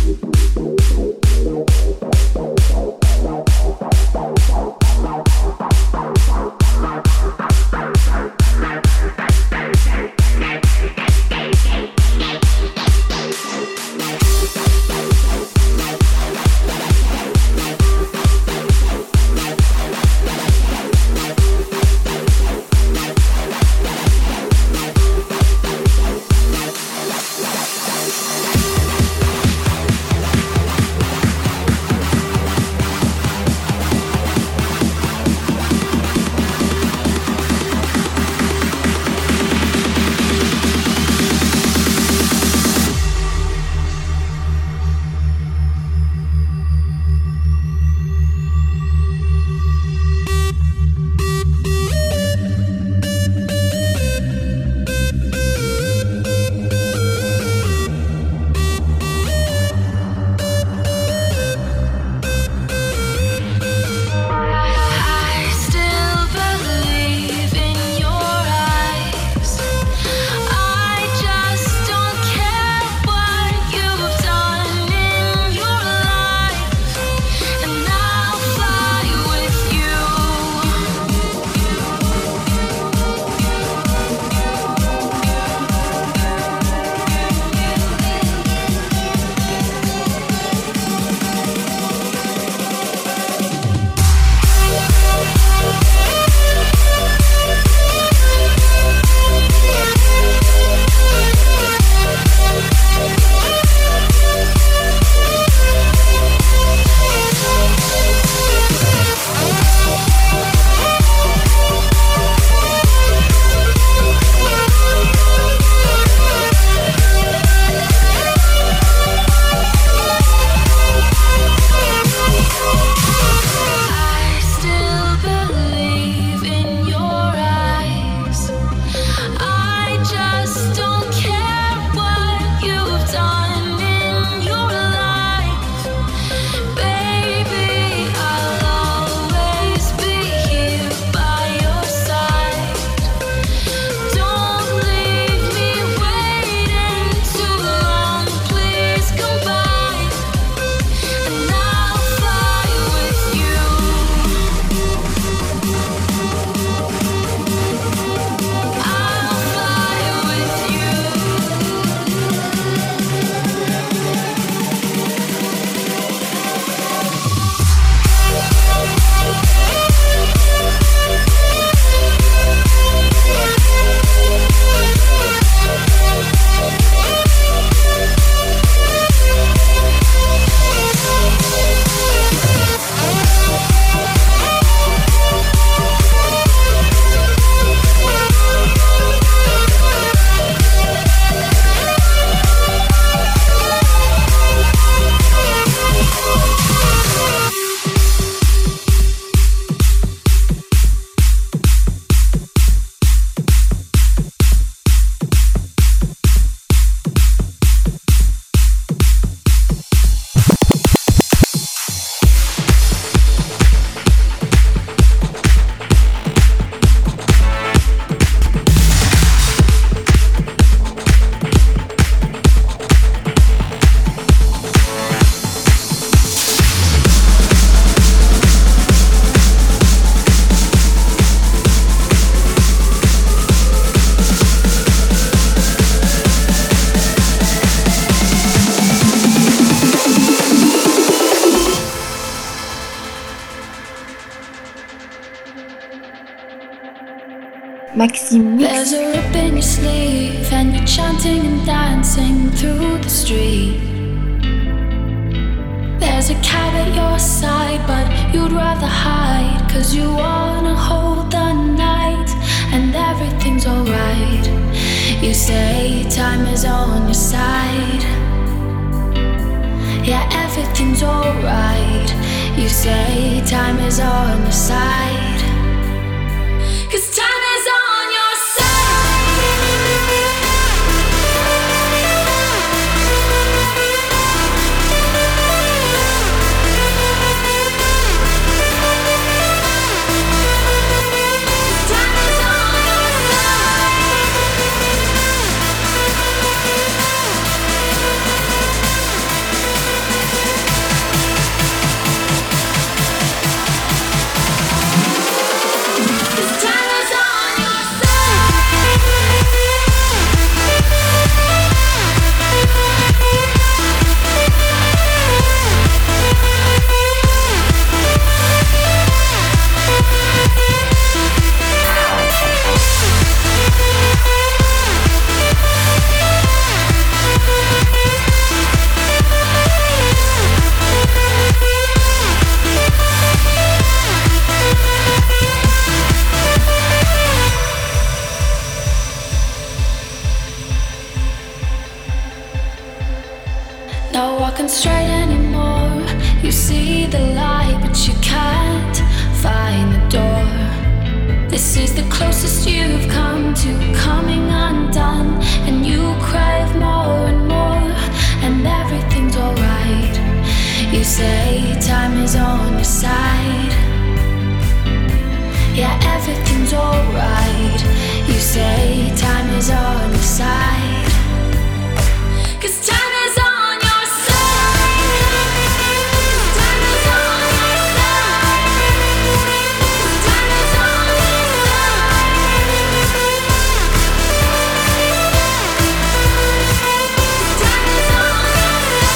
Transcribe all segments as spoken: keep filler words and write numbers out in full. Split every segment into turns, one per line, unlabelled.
Maxime Mix.
There's a rip in your sleeve and you're chanting and dancing through the street. There's a cab at your side but you'd rather hide, 'cause you wanna hold the night and everything's alright. You say time is on your side. Yeah, everything's alright. You say time is on your side. 'Cause time is on your straight anymore. You see the light, but you can't find the door. This is the closest you've come to coming undone, and you crave more and more, and everything's alright. You say time is on your side. Yeah, everything's alright. You say time is on your side. 'Cause time is on your side. Time is on your side. Time is on your side. Time is on your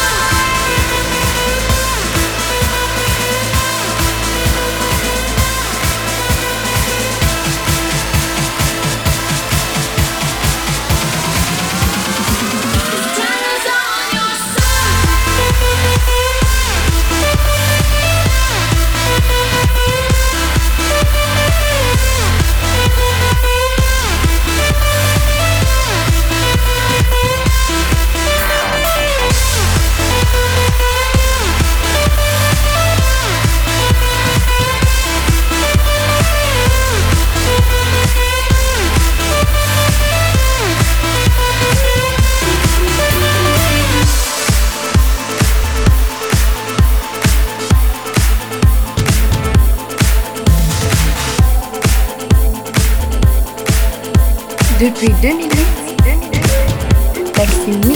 Depuis deux mille huit, Maxime Mix.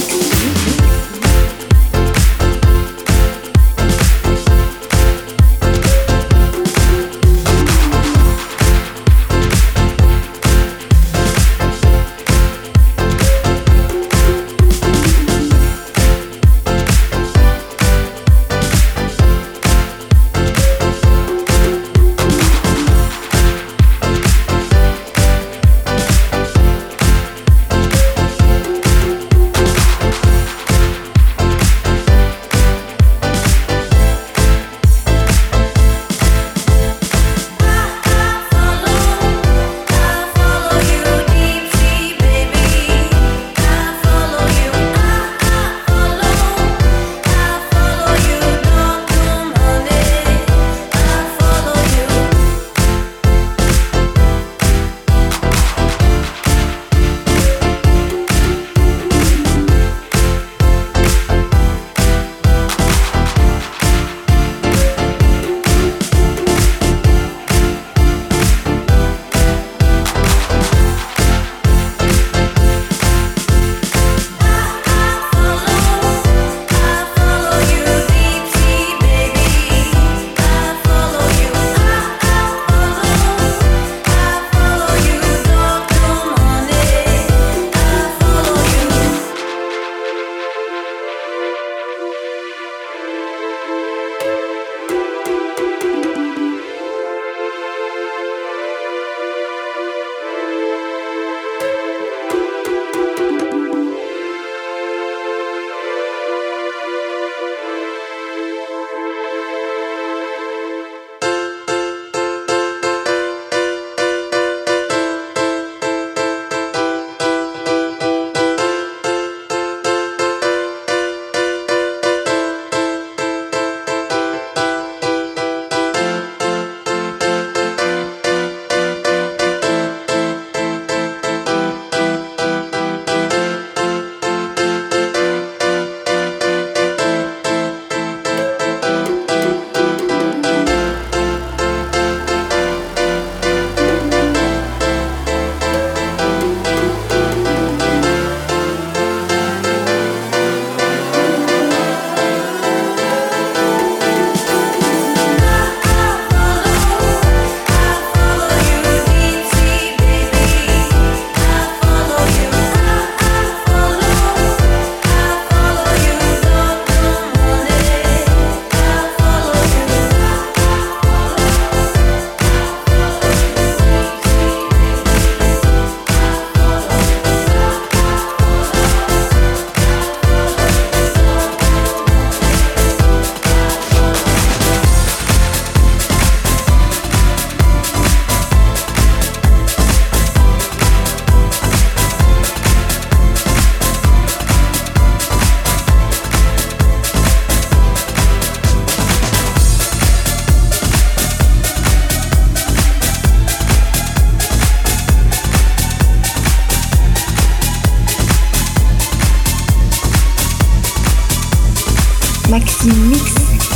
Maxi Mix.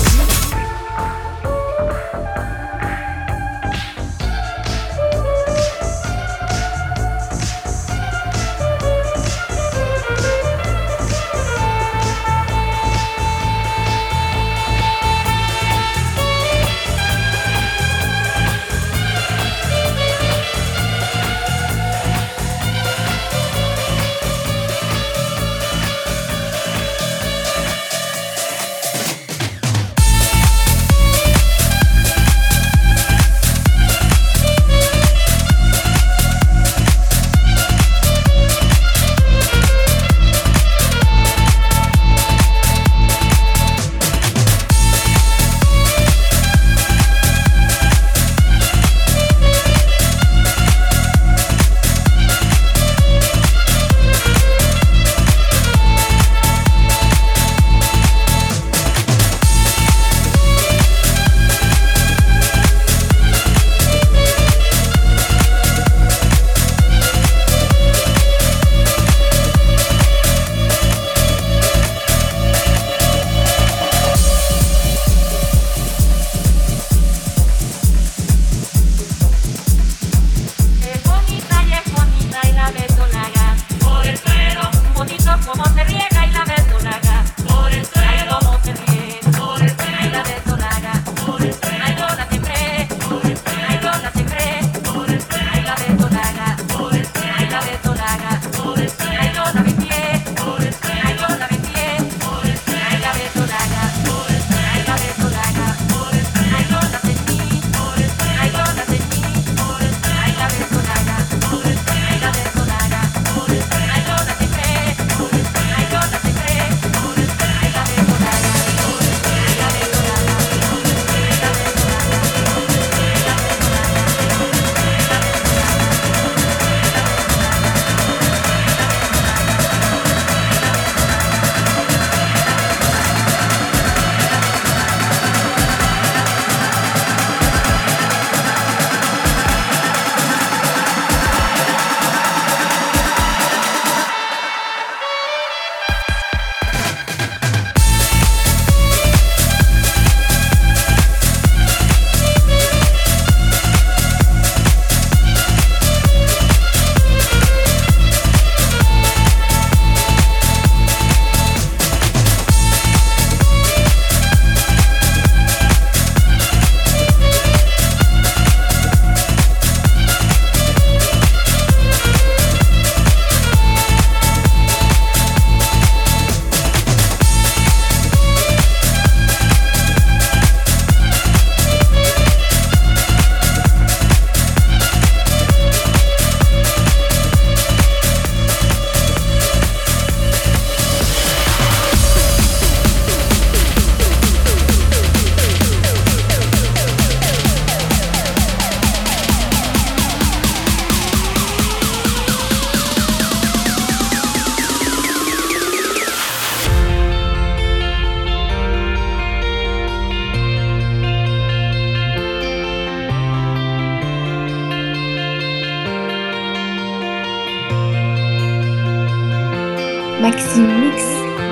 Maxi Mix.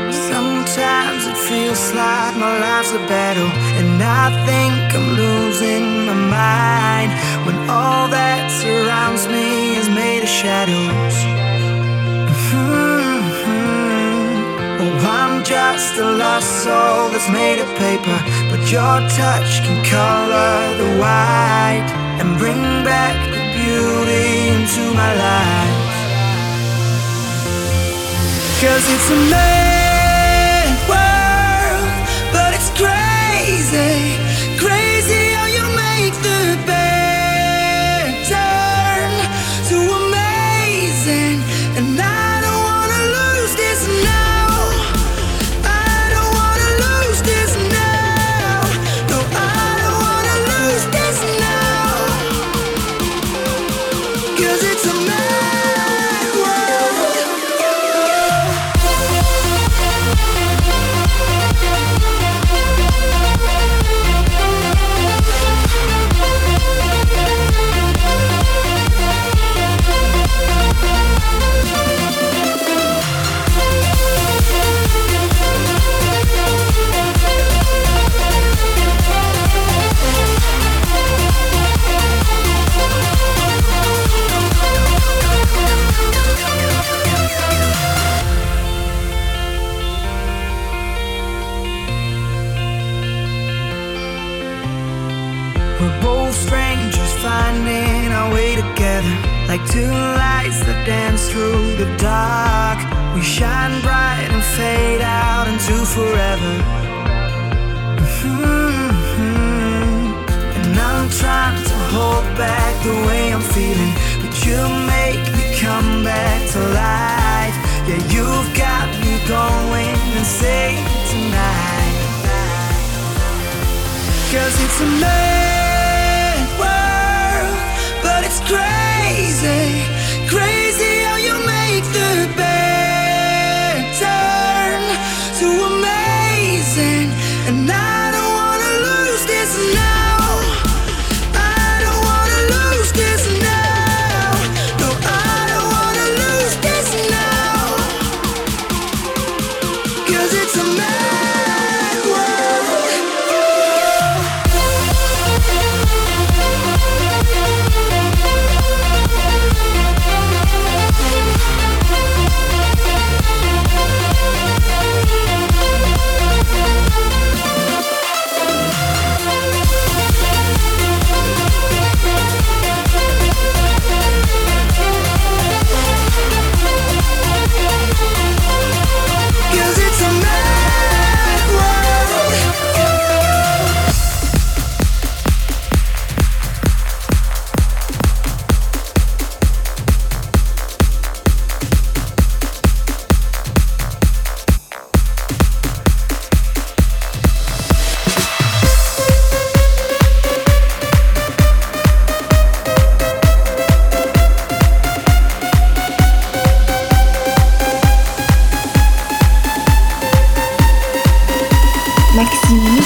Sometimes it feels like my life's a battle, and I think I'm losing my mind when all that surrounds me is made of shadows. Mm-hmm. Oh, I'm just a lost soul that's made of paper, but your touch can color the white and bring back the beauty into my life. 'Cause it's a mad world, but it's crazy, crazy how you make the bad turn to amazing. And I don't wanna lose this now, I don't wanna lose this now, no, I don't wanna lose this now. 'Cause it's a mad world. strangers finding our way together, like two lights that dance through the dark. We shine bright and fade out into forever. Mm-hmm. And I'm trying to hold back the way I'm feeling, but you make me come back to life. Yeah, you've got me going insane tonight. 'Cause it's a mad world, but it's crazy, crazy how you make the bad turn to amazing. And I don't wanna lose this now. I don't wanna lose this now. No, I don't wanna lose this now. 'Cause it's a mad world.
Maxime Mix.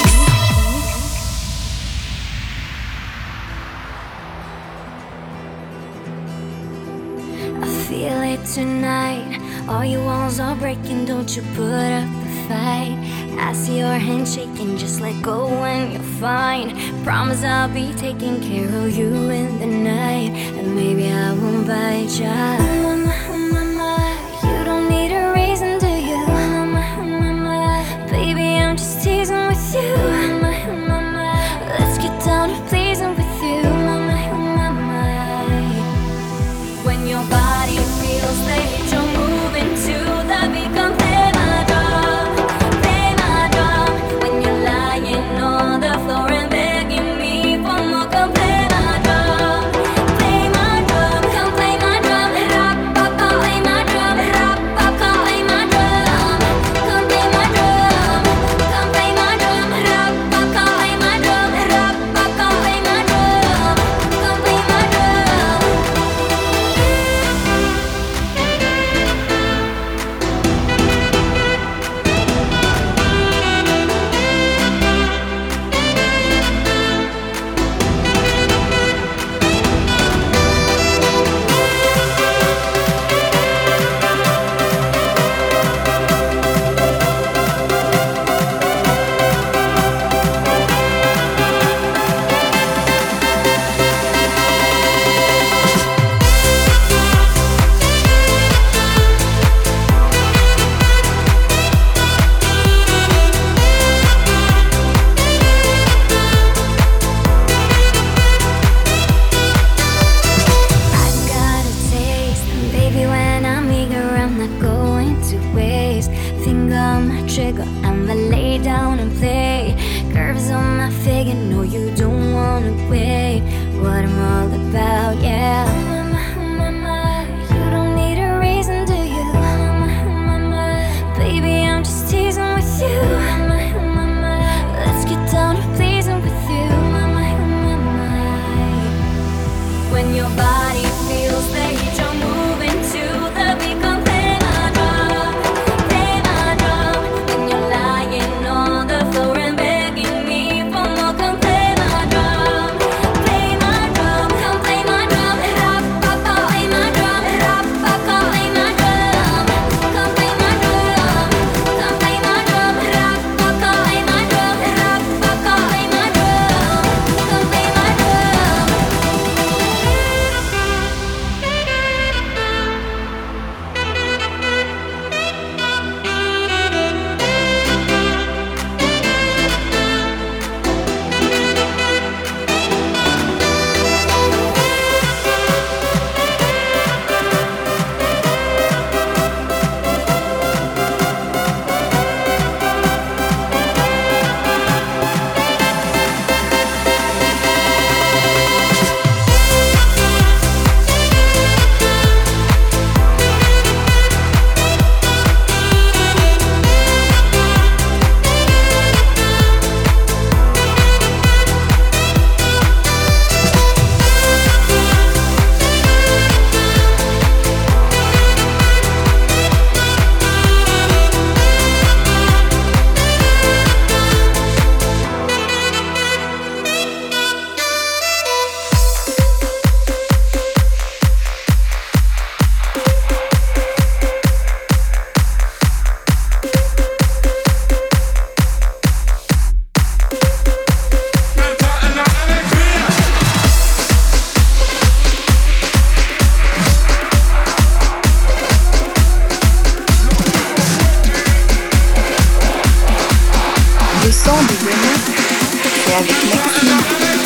I feel it tonight. All your walls are breaking, don't you put up a fight. I see your hand shaking, just let go when you're fine. Promise I'll be taking care of you in the night, and maybe I won't bite ya. You don't need a reason, do you? Baby, I'm just teasing with you. Let's get down to pleasing with you. When your body feels that you're moving to the beat, come play my drum, play my drum. When you're lying on the floor and begging me for more, come play my drum, play my drum, come play my drum. Rock, pop, come play my drum. Rock, pop, come play my drum. Come play my drum, come play my drum. Rock, pop, come play my drum. Rock, pop, come play my drum. Come play my drum. I got a taste, and baby, when I'm eager, I'm not going to waste. Finger on my trigger, I'ma lay down and play. Curves on my figure, no, you don't wanna wait. What I'm all about, yeah. You don't need a reason, do you? Baby, I'm just teasing with you. Let's get down to pleasing with you. When your body feels that you're moving to the beat, come play my drum, play my drum. When you're lying on the floor and begging me for more, come play my drum, play my drum, come play my drum. Rock,
son de demain, c'est avec Maxime.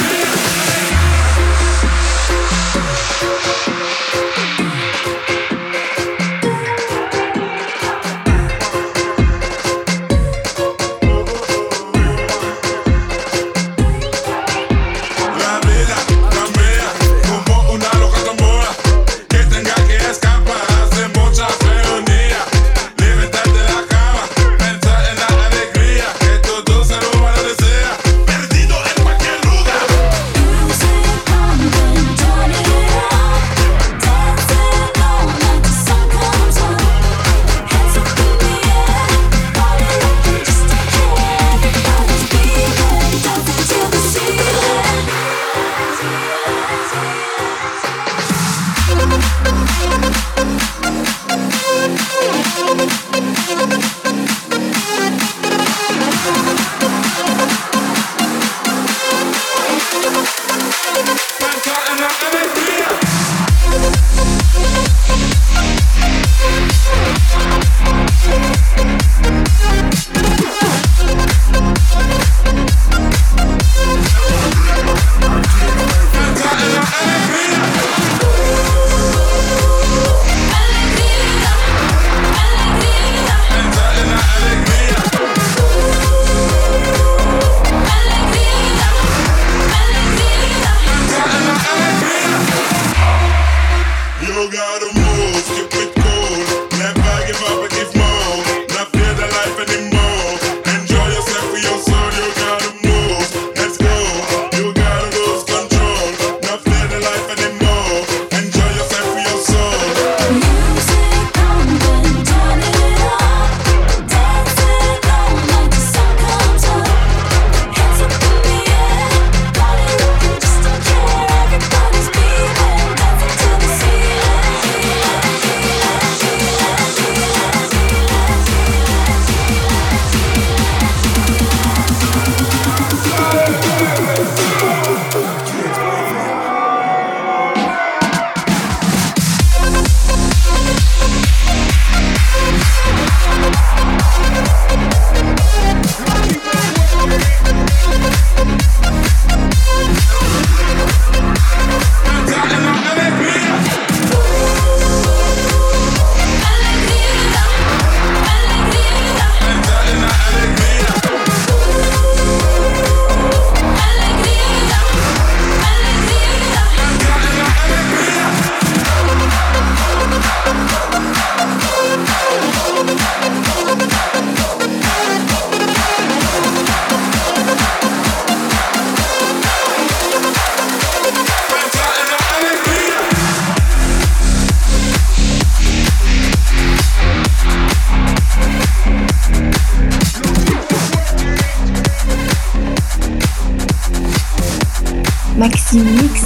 Maxime Mix.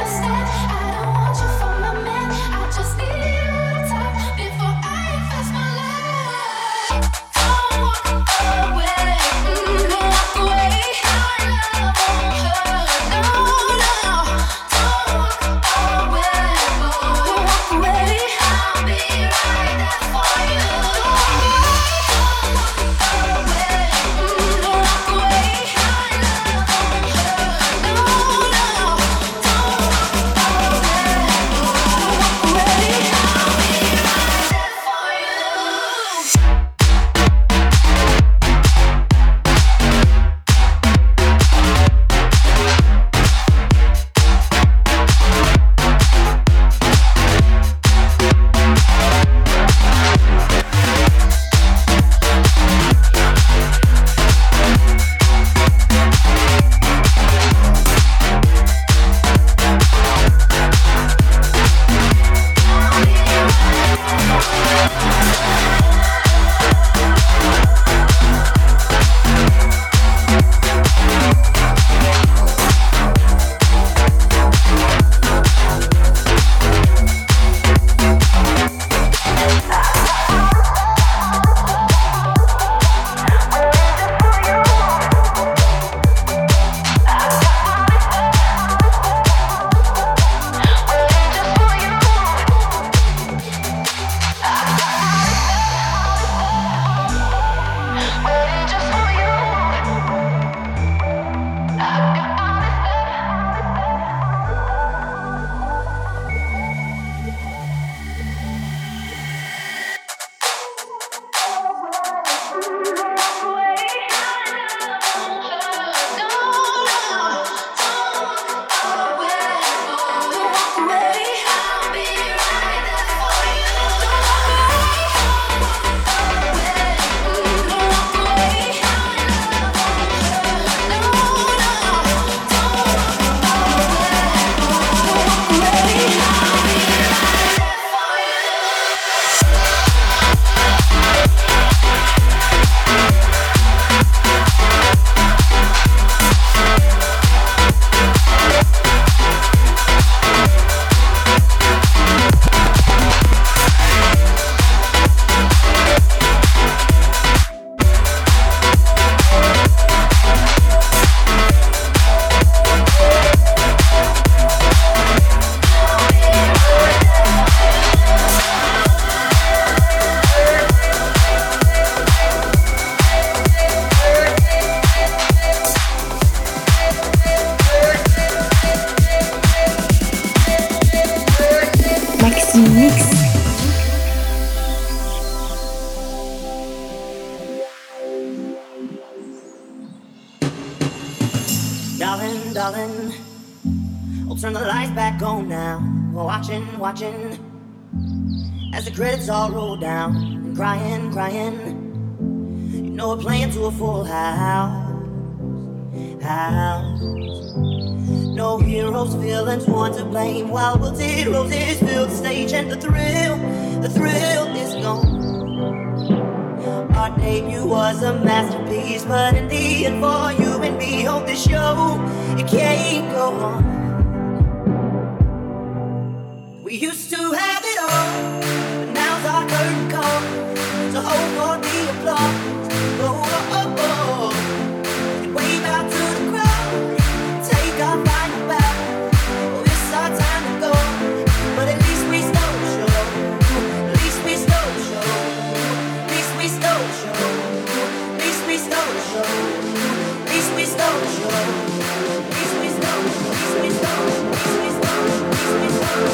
Before I invest my
watching, watching as the credits all roll down and crying, crying. You know we're playing to a full house, house. No heroes, villains, one to blame. While wilted roses fill the stage and the thrill, the thrill is gone. Our debut was a masterpiece, but in the end for you and me, hope this show, it can't go on. We used to have it all, but now's our curtain call. So hold for the applause, oh, oh, oh, oh. And wave out to the crowd, take our final bow. Oh, it's our time to go, but at least we stole the show. At least we stole the show. At least we stole the show. At least we stole the show. At least we stole the show. At least we stole. At least we stole. At least we stole. At least we stole.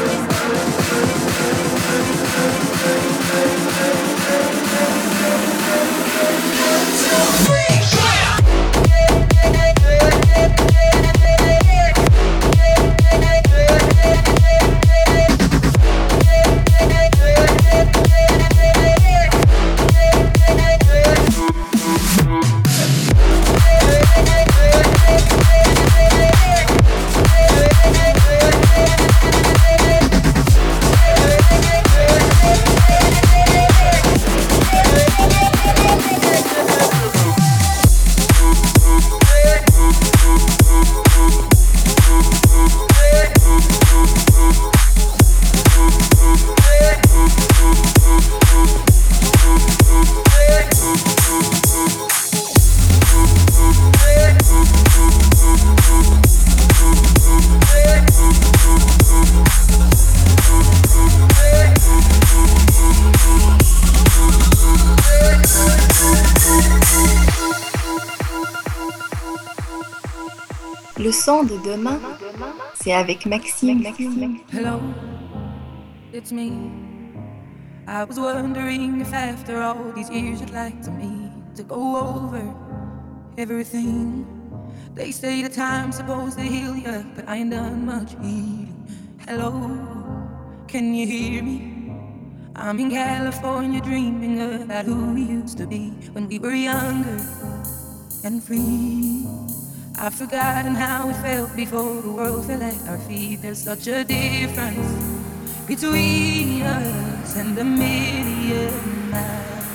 Le son de demain, c'est avec Maxime.
Hello, it's me. I was wondering if after all these years you'd like to me to go over everything. They say the time's supposed to heal you, but I ain't done much healing. Hello, can you hear me? I'm in California dreaming about who we used to be when we were younger and free. I've forgotten how it felt before the world fell at our feet. There's such a difference between us and a million miles.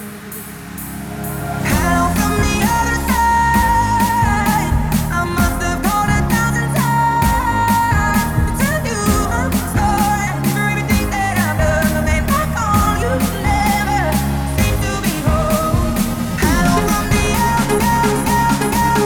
Hello from the other side. I must have called a thousand times to tell you I'm sorry for everything that I've done. The man I call you never seem to be home. Hello from the other side.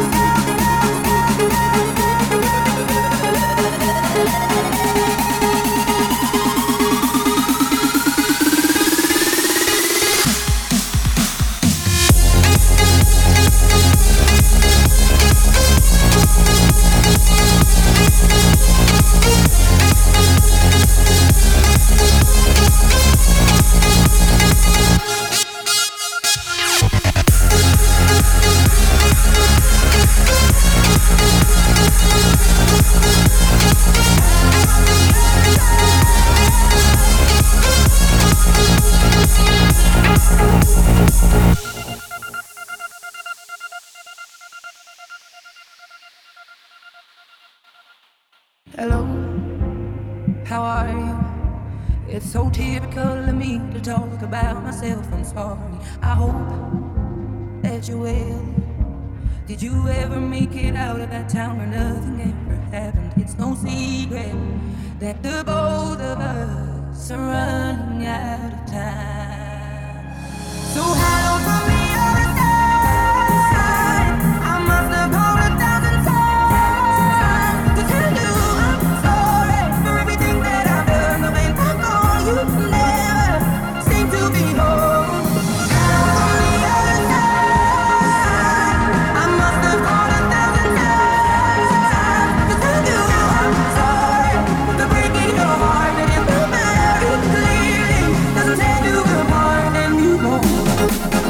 Hello, how are you? It's so typical of me to talk about myself. I'm sorry. I hope that you will. Did you ever make it out of that town where nothing ever happened? It's no secret that the both of us are running out of time. So hello from the other side. I must have called a thousand times to tell you I'm sorry for everything that I've done. The man I call you never seem to be home. Hello from the other side. I must have called a thousand times to tell you I'm sorry for breaking your heart. And if the matter is clearly doesn't tear you apart, and you won't.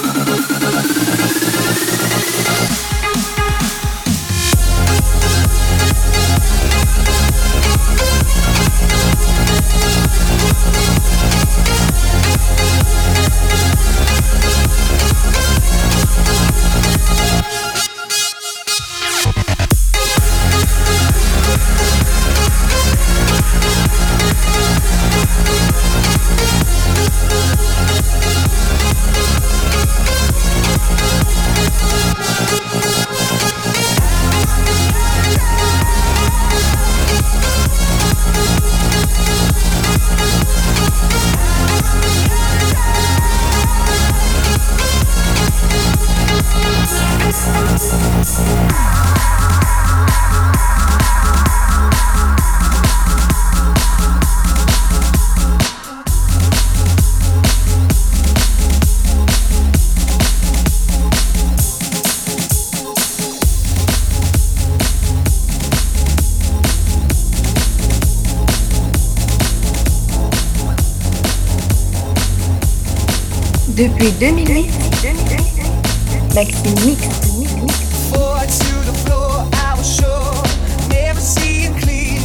Depuis deux mille huit, Maxime Mix.
Forward to the floor, I was sure, never seeing clear.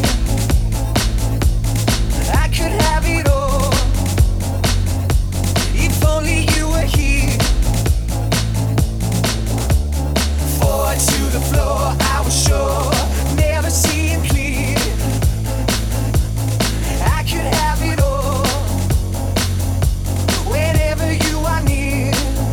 I could have it all, if only you were here. Forward to the floor, I was sure, never seeing clear. I could have it all, whenever you are near.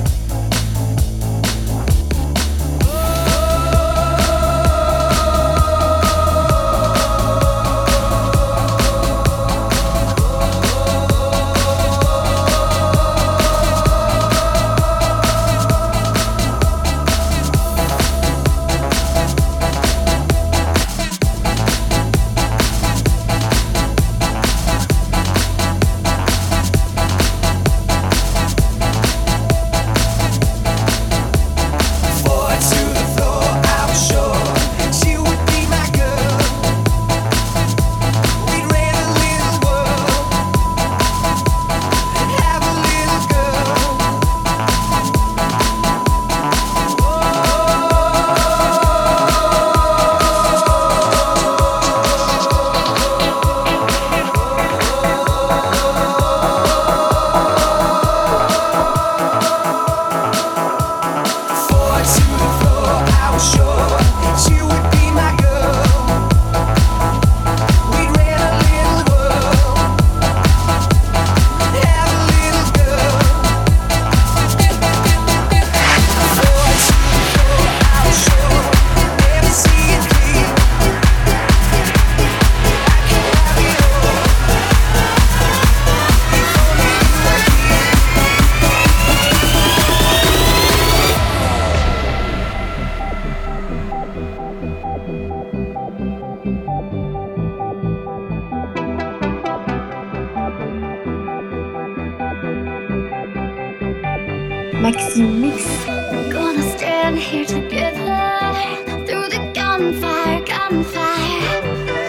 Maxime Mix.
Gonna stand here together through the gunfire, gunfire.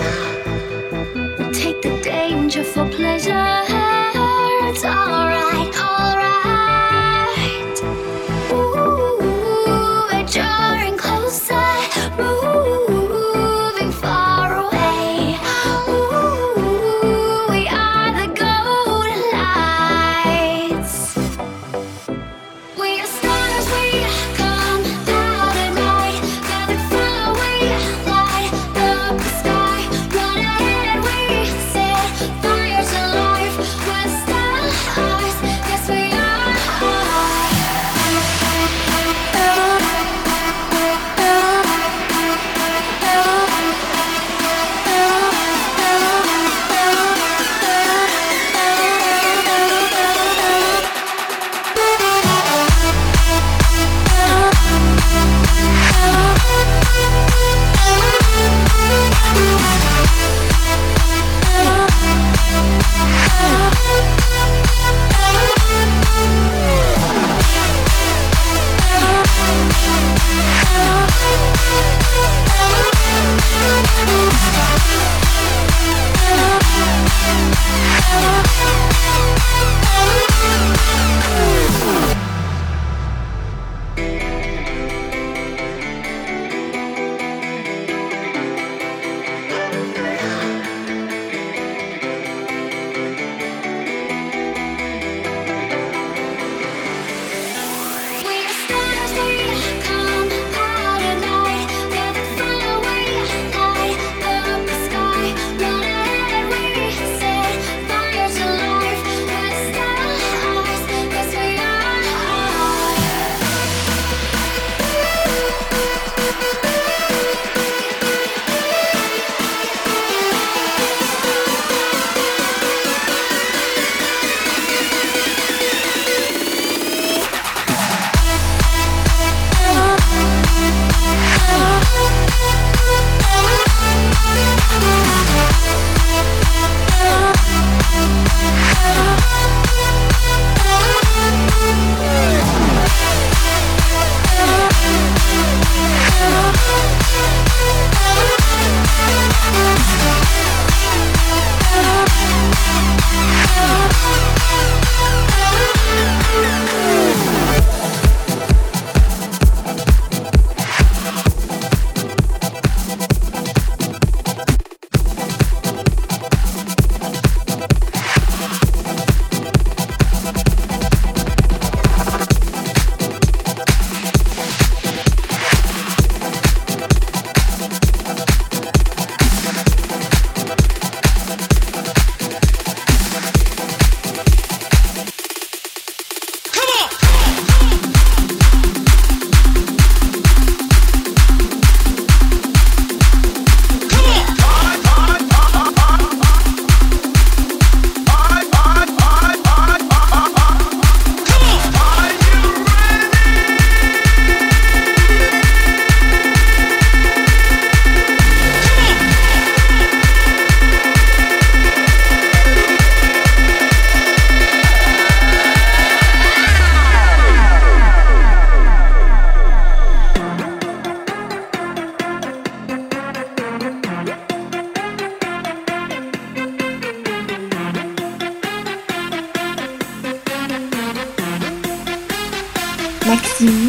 We'll take the danger for pleasure. It's alright, alright. Ooh, we're drawing closer, moving far away. Ooh, we are the golden lights. We are stars, we come out at night. Gathered fire, we light up the sky. Run ahead, we set fires alive. We're stars, yes we are.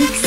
mix.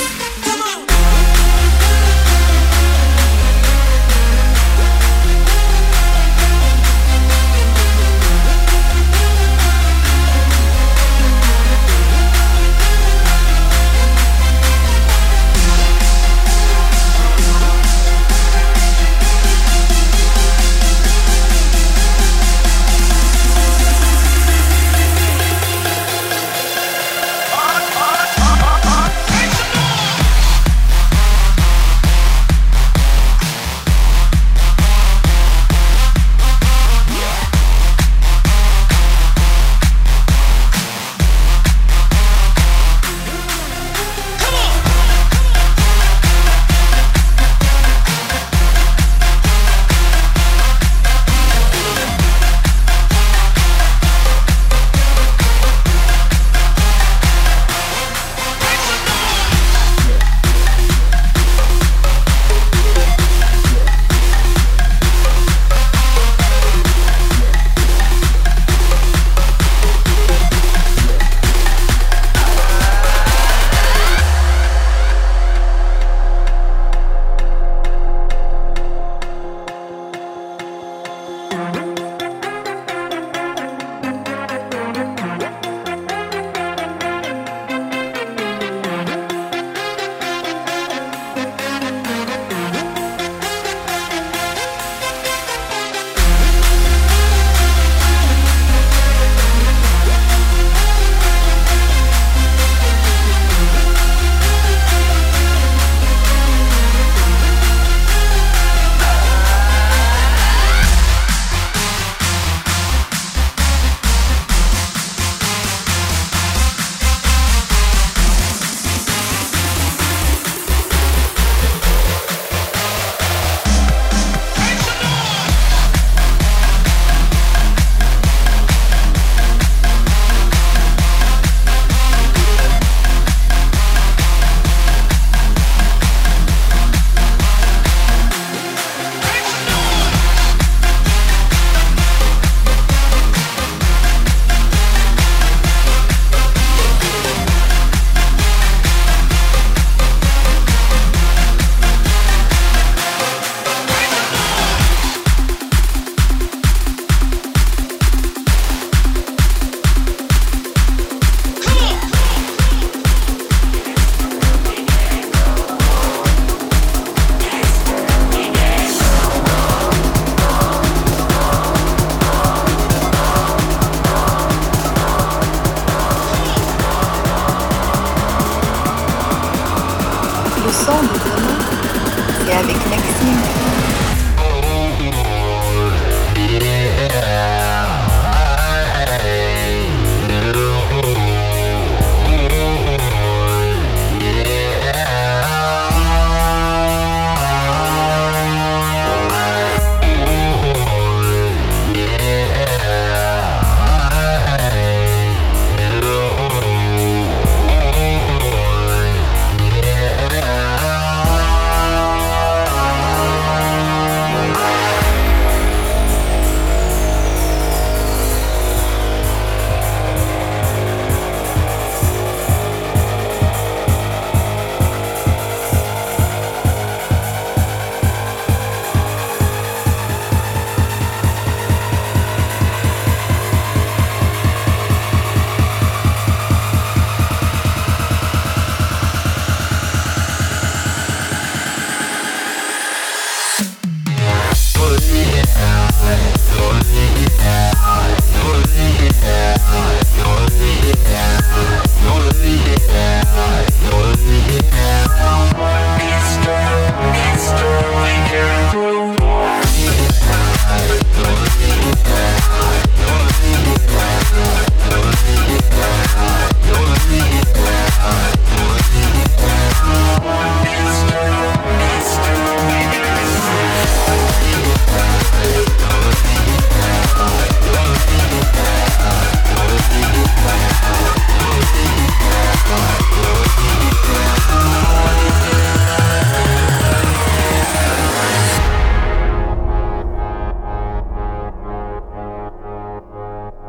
Le son de demain, c'est avec Maxime.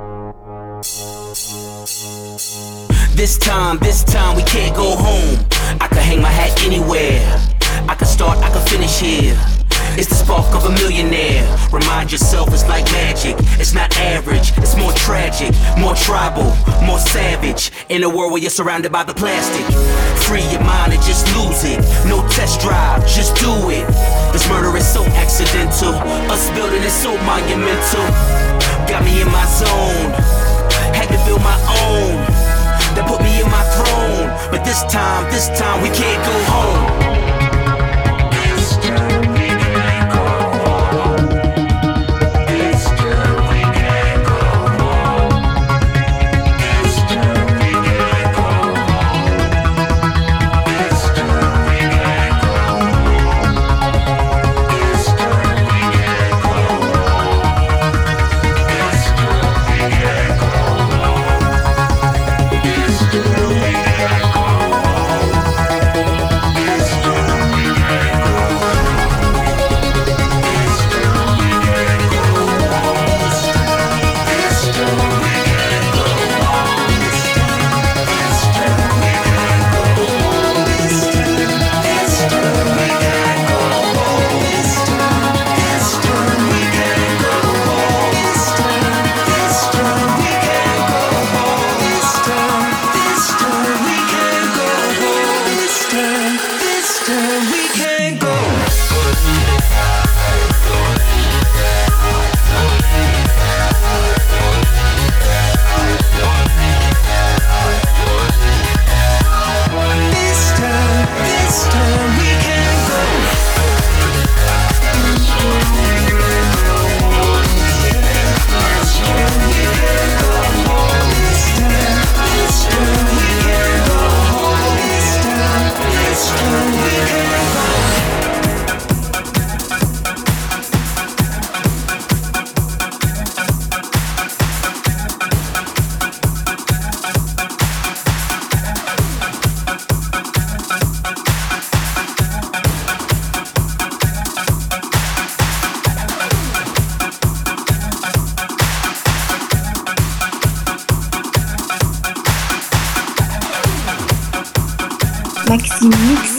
This time, this time we can't go home. I could hang my hat anywhere. I could start, I could finish here. It's the spark of a millionaire. Remind yourself it's like magic. It's not average, it's more tragic, more tribal, more savage. In a world where you're surrounded by the plastic. Free your mind and just lose it. No test drive, just do it. This murder is so accidental. Us building is so monumental. Got me in my zone. Had to build my own. That put me in my throne. But this time, this time we can't go home.
Maxime Mix.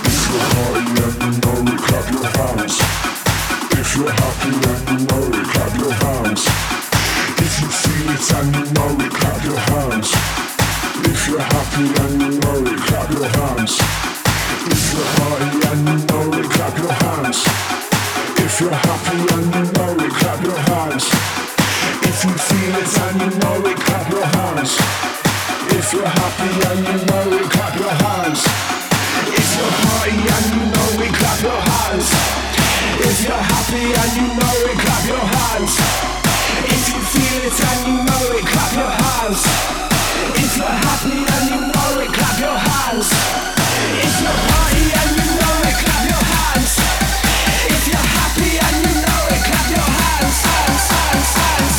If you're happy and you know it, clap your hands. If you feel it and you know it, clap your hands. If you're happy and you know it, clap your hands. If you're party and you know it, clap your hands. If you're happy and you know it, clap your hands. If you feel it and you know it, clap your hands. If you're happy and you know it, clap your hands. If you're party and you know it, clap your hands. If you're happy and you know it, clap your hands. If you feel it and you know it, clap your hands. If you're happy and you know it, clap your hands. If you're party and you know it, clap your hands. If you're happy and you know it, clap your hands. Hands, hands, hands.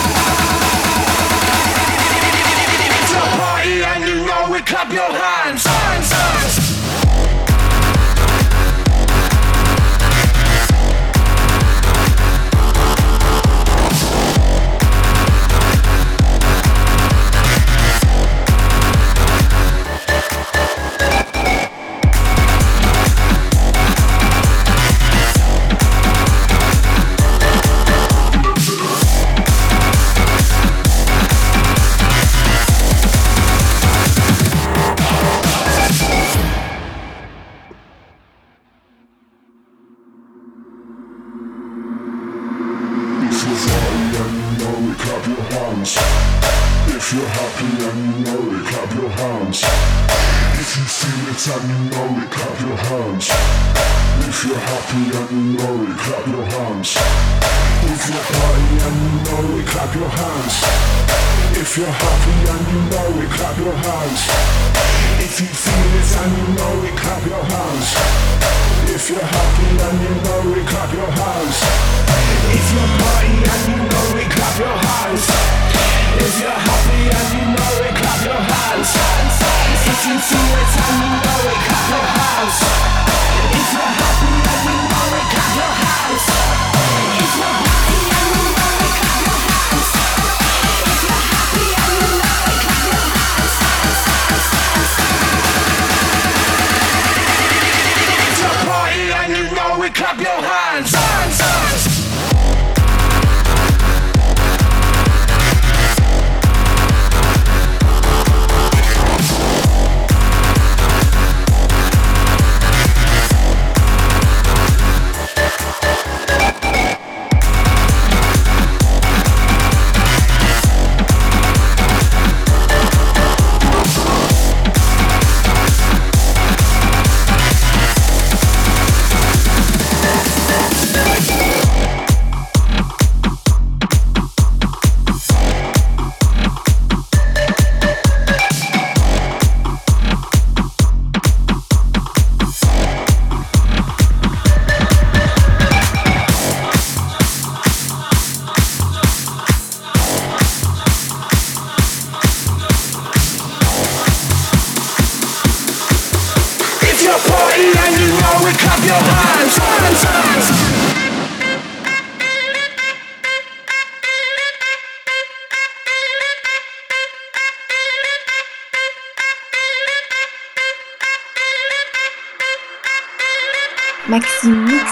If you're party and you know it, clap your hands. Hands, hands. If you're happy and you know it, clap your hands. If you feel it and you know it, clap your hands. If you're happy and you know it, clap your hands. If you're party and you know it, clap your hands. If you're happy and you know it, clap your hands. If you feel it and you know it, clap your hands. If you're happy and you know it, clap your hands. If you're party and you know it, clap your hands. If you're happy and you know it, clap your hands. If you feel it and you know it, clap your hands. If you're happy and you know it, clap your hands. If you're happy and you know it, clap your hands. If you're happy and you know it, clap your hands.
your hands, hands, hands.
Maxime Mix.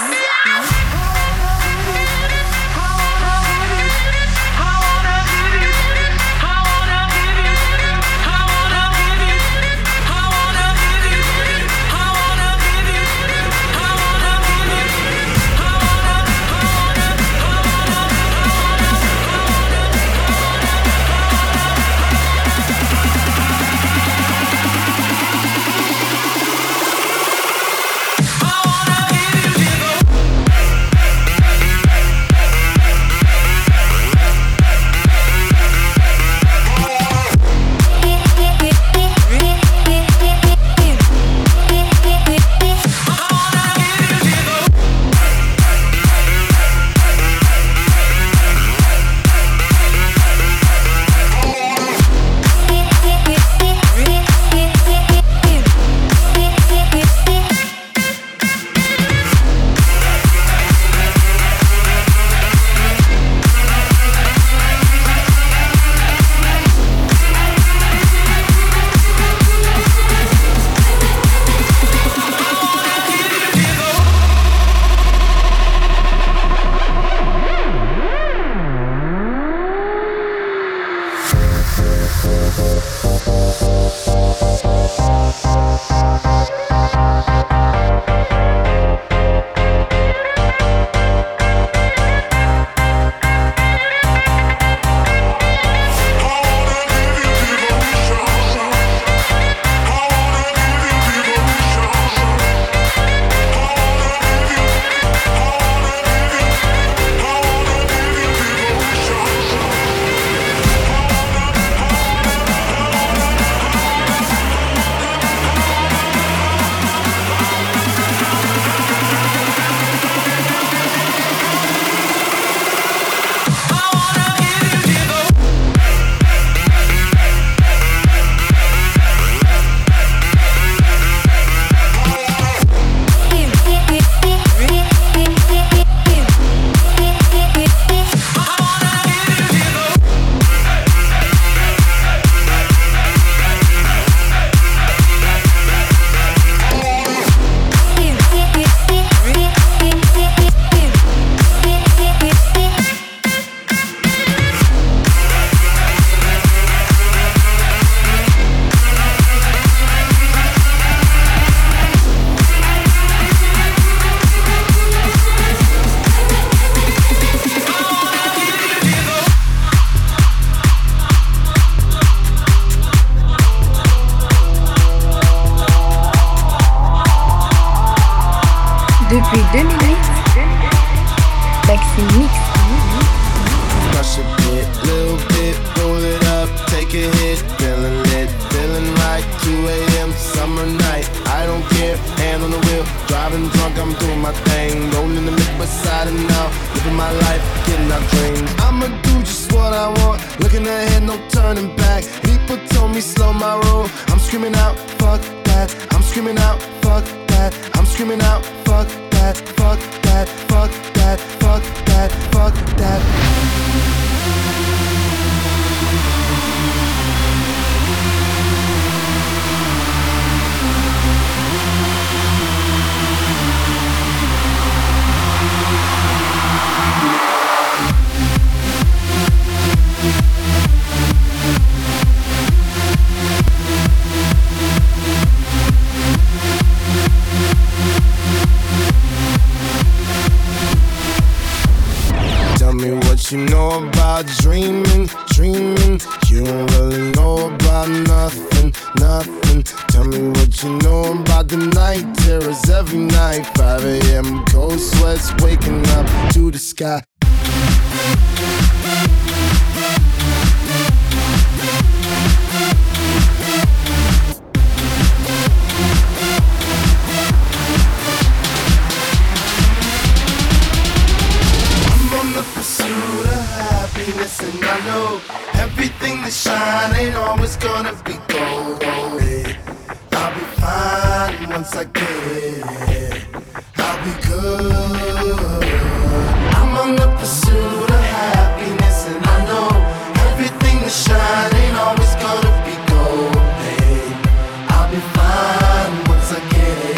Depuis deux mille huit, Maxime Mix.
Crush a bit, little bit, roll it up, take a hit, feeling lit, feeling right, two a.m. summer night, I don't care, hand on the wheel, driving drunk, I'm doing my thing, rolling the mid beside and now, living my life, getting out dreams. I'ma do just what I want, looking ahead, no turning back. People told me slow my roll, I'm screaming out, fuck that, I'm screaming out, fuck that, I'm screaming out, fuck that, fuck that, fuck that, fuck that, fuck that. You know about dreaming, dreaming. You don't really know about nothing, nothing. Tell me what you know about the night terrors every night. five a.m. cold sweats waking up to the sky. And I know everything that shine ain't always gonna be gold. I'll be fine once I get it. I'll be good. I'm on the pursuit of happiness, and I know everything that shine ain't always gonna be gold. Hey, I'll be fine once I get it.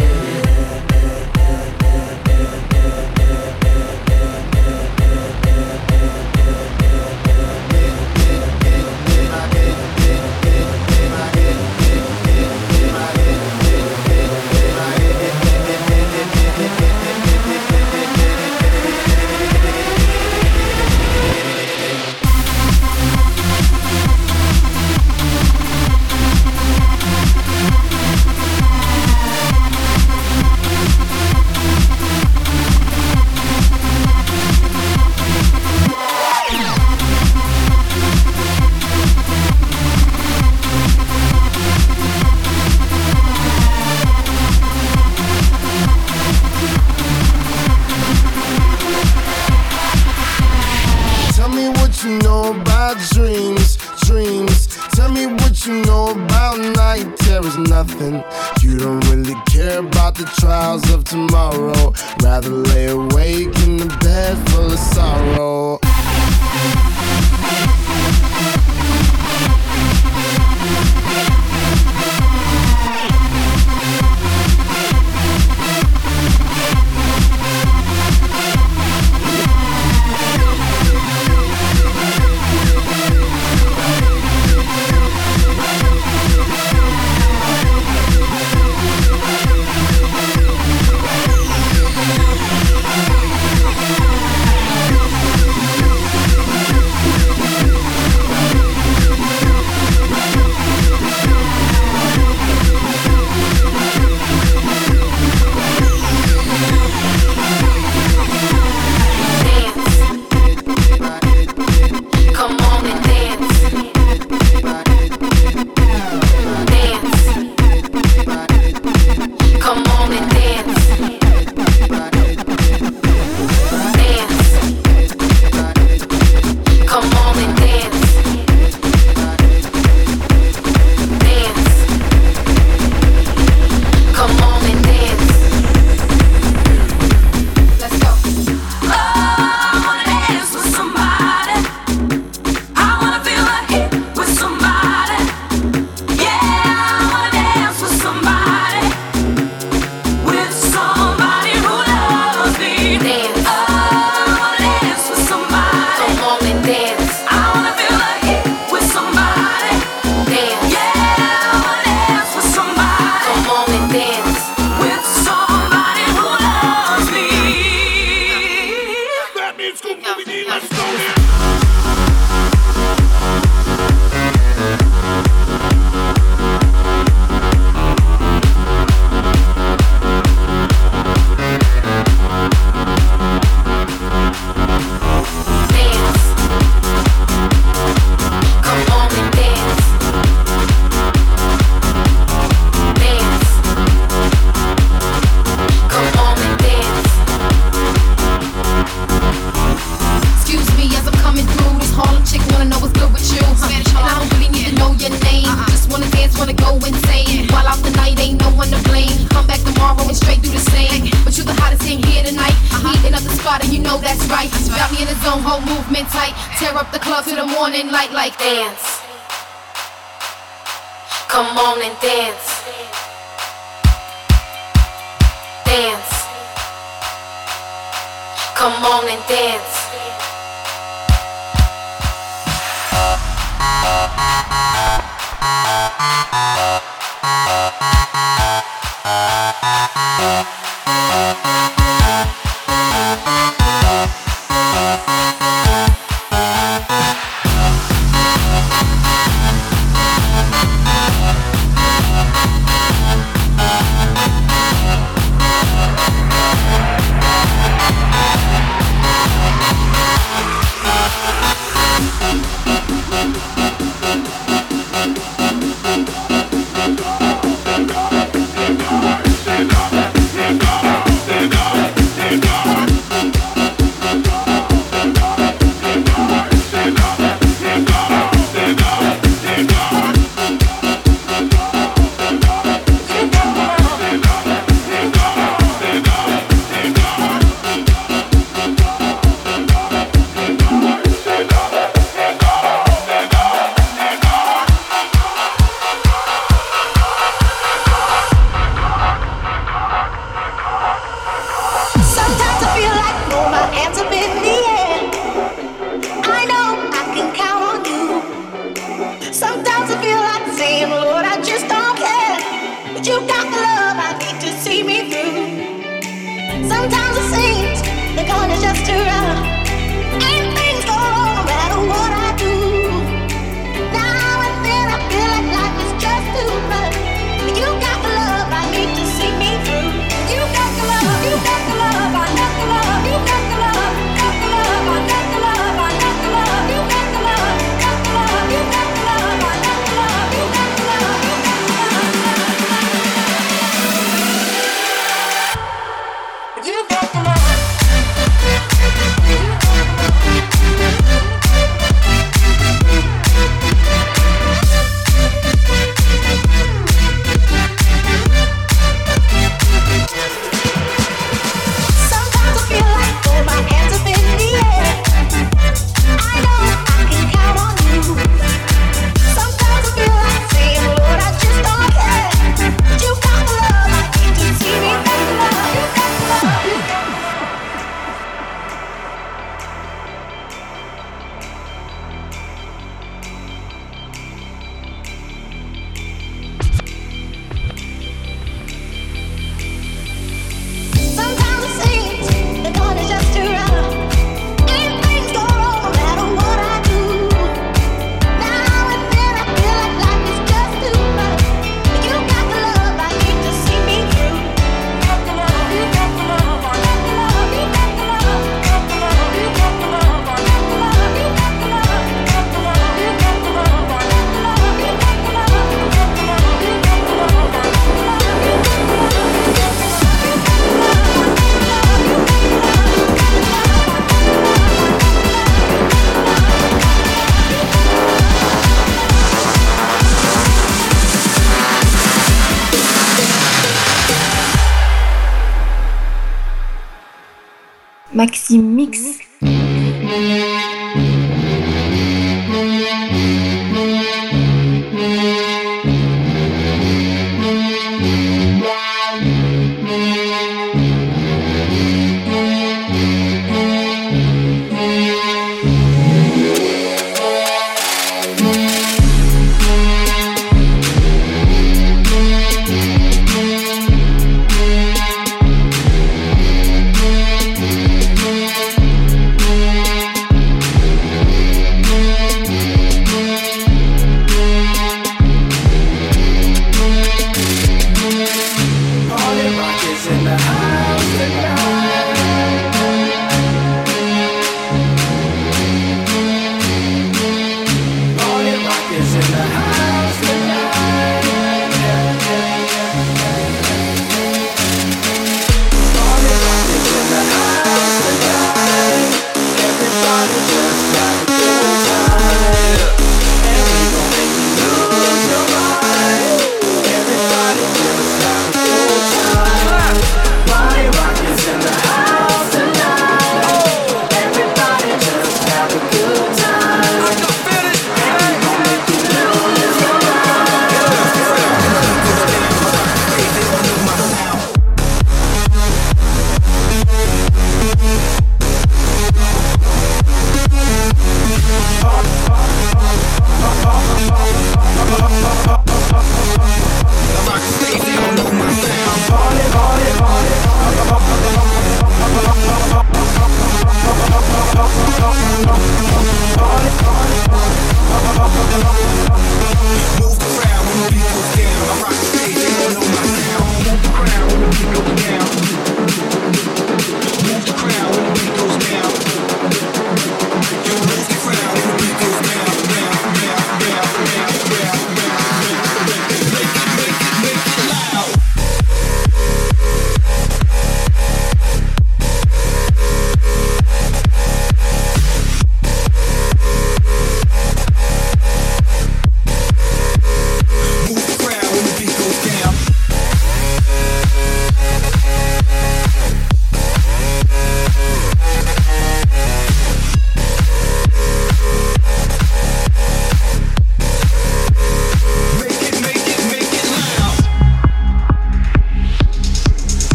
Tell me what you know about dreams, dreams. Tell me what you know about night terrors. Nothing. You don't really care about the trials of tomorrow. Rather lay awake in the bed full of sorrow.
me through. Sometimes it seems the going is just too rough, and things go wrong no matter what I do. Now and then I feel like life is just too much. You got the love I need to see me through. You got the love, you got the love, I got the love, you got the love, got the love, I got the love, I got the love, you got the love, got the love, you got the love, I got the love, you got the love, you got the love, you got the love.
Maxime Mix.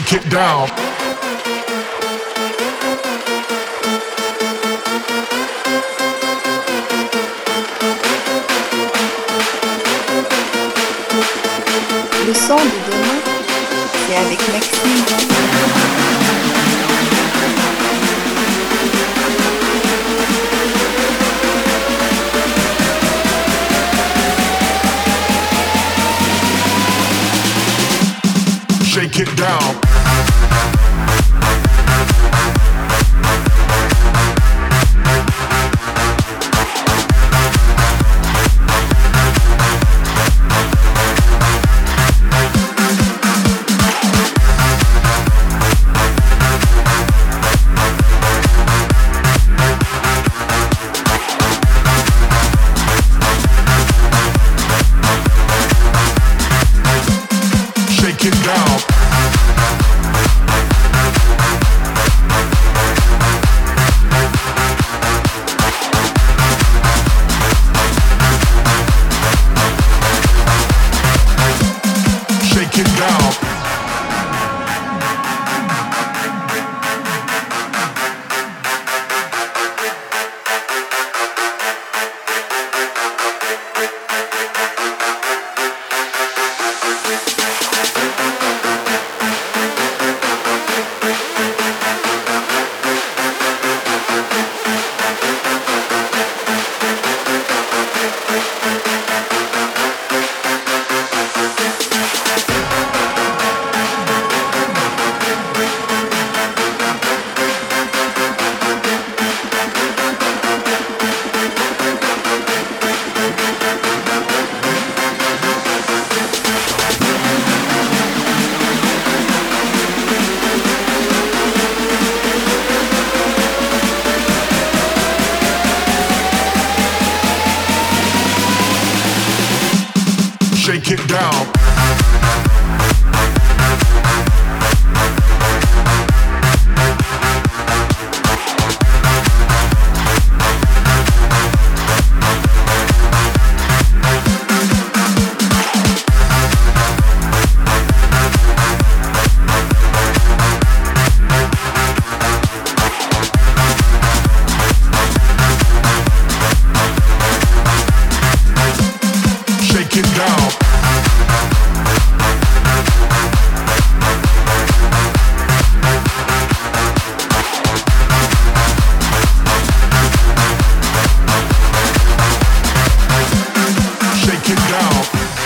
Shake it down.
Le son de demain, c'est avec Maxime.
Shake it down. Shake it down. Shake it down. Shake it down. Shake it down. Shake it down.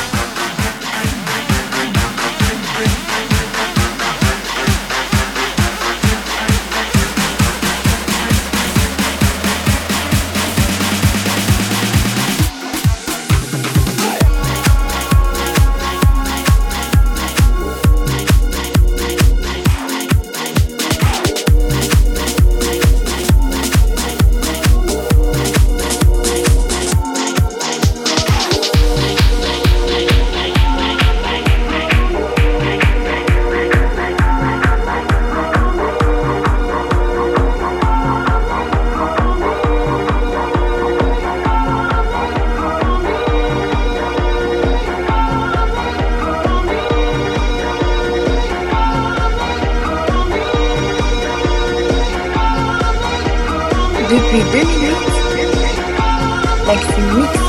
Depuis deux mille huit, Maxime Mix.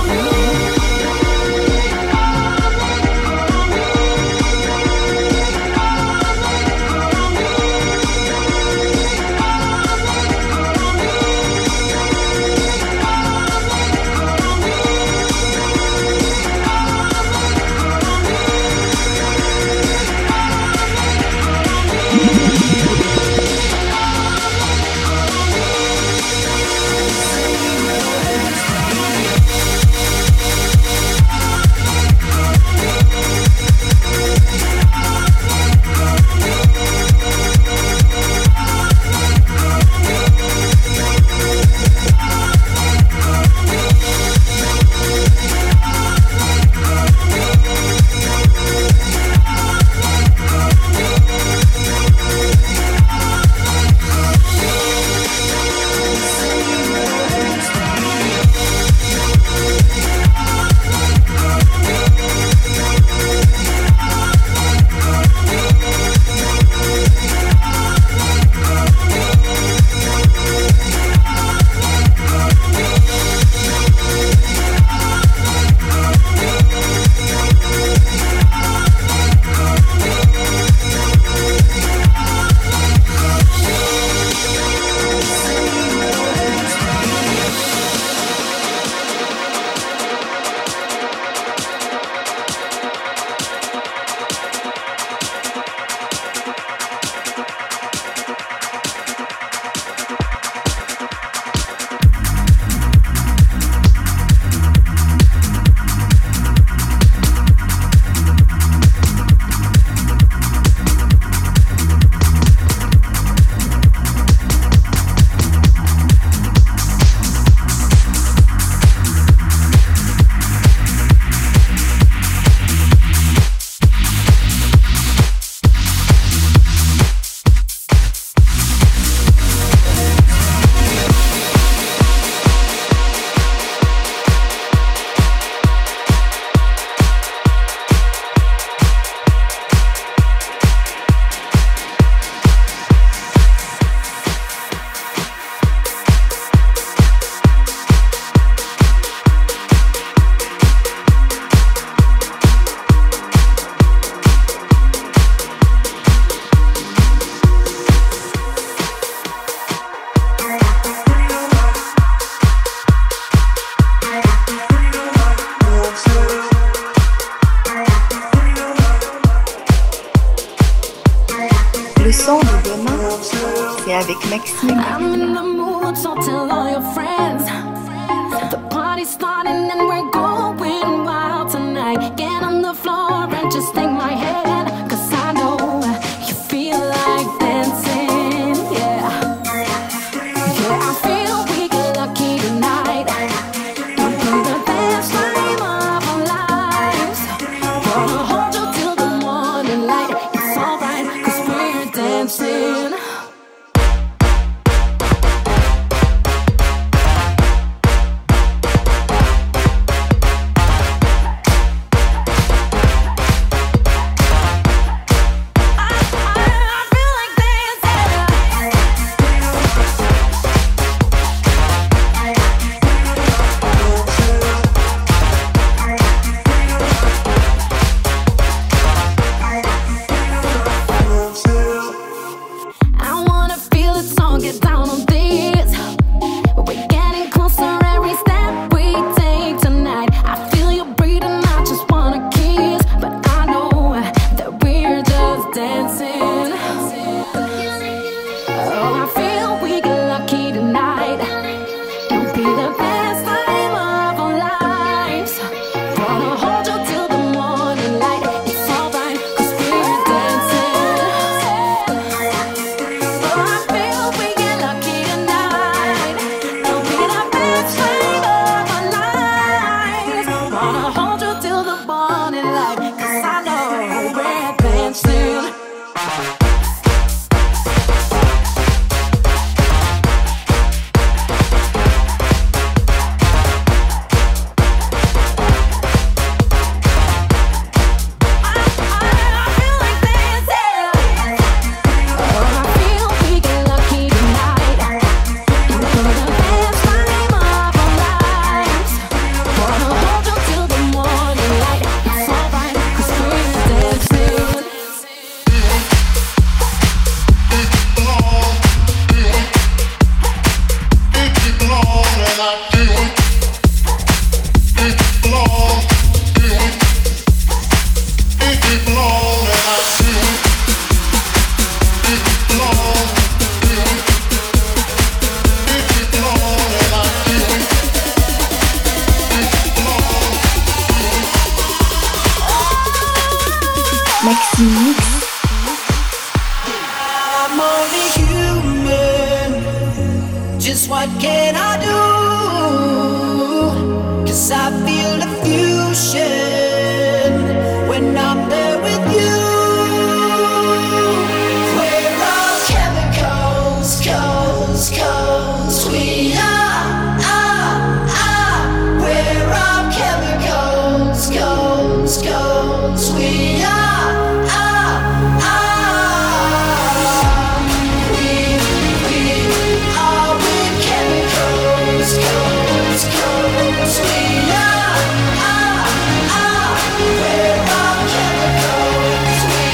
tell all your friends. The party's starting and we're going wild tonight. Get on the floor and just take my hand, 'cause I know you feel like dancing, yeah. Yeah, I feel we get lucky tonight. It'll be the best time of our lives. Gonna hold you till the morning light. It's alright, 'cause we're dancing.
I'm only human. Just what can I do? 'Cause I feel the fusion when I'm there with you. We're all chemicals, coals, coals. We are, are, are. We're all chemicals, coals, coals. We are, are, are. We, we are with chemicals, coals, coals. We are, are, are. We're all chemicals. We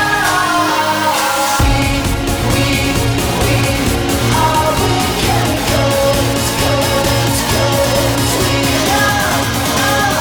are. We, we, we are with chemicals, coals, coals. We are, are,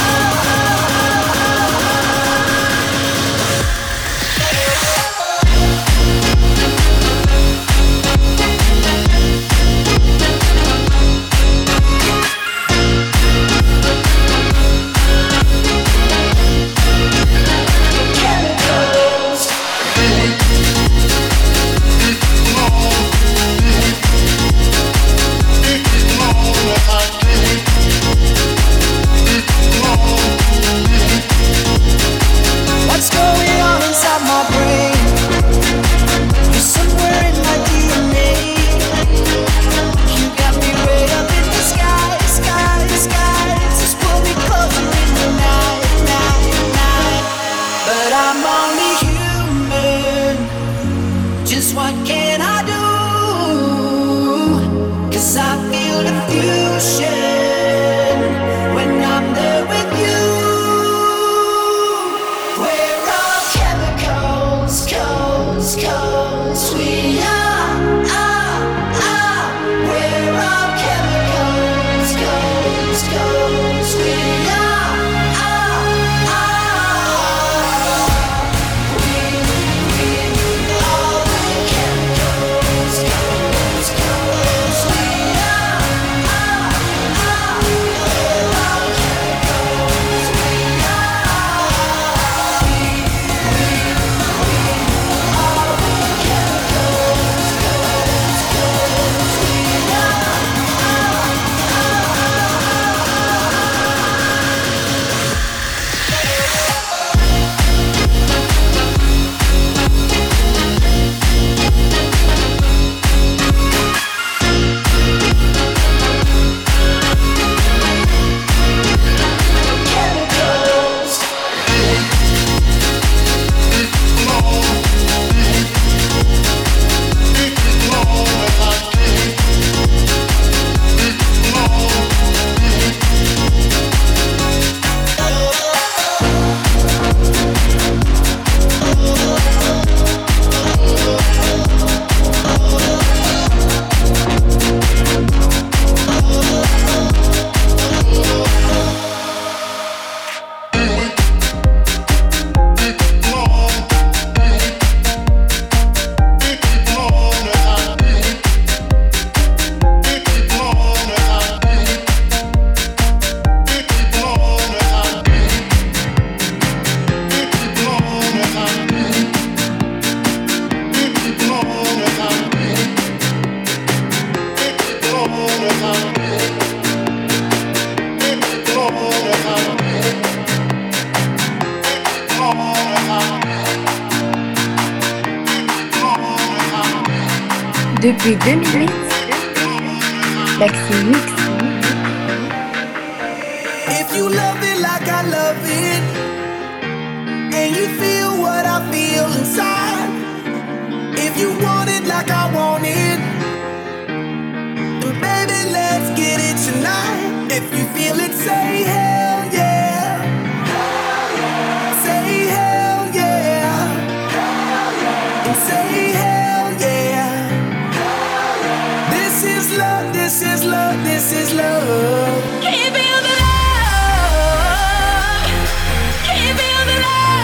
what's going on inside my brain? You're somewhere in my D N A. You got me way up in the sky, sky, sky. Just pull me closer in the night, night, night. But I'm only human. Just what can I do? 'Cause I feel the fusion when I'm there with you. We're all chemicals, coals, coals. We are, are, are. We're all chemicals, coals, coals. We are, are, are. We, we are the chemicals, coals, coals. We are.
Depuis deux mille huit, Maxime Mix.
If you love it like I love it, and you feel what I feel inside, if you want it like I want it, then baby, let's get it tonight. If you feel it, say hell yeah. Say hell yeah. And say hell yeah. This is love, this is love, this is love.
Can you feel the love? Can you feel the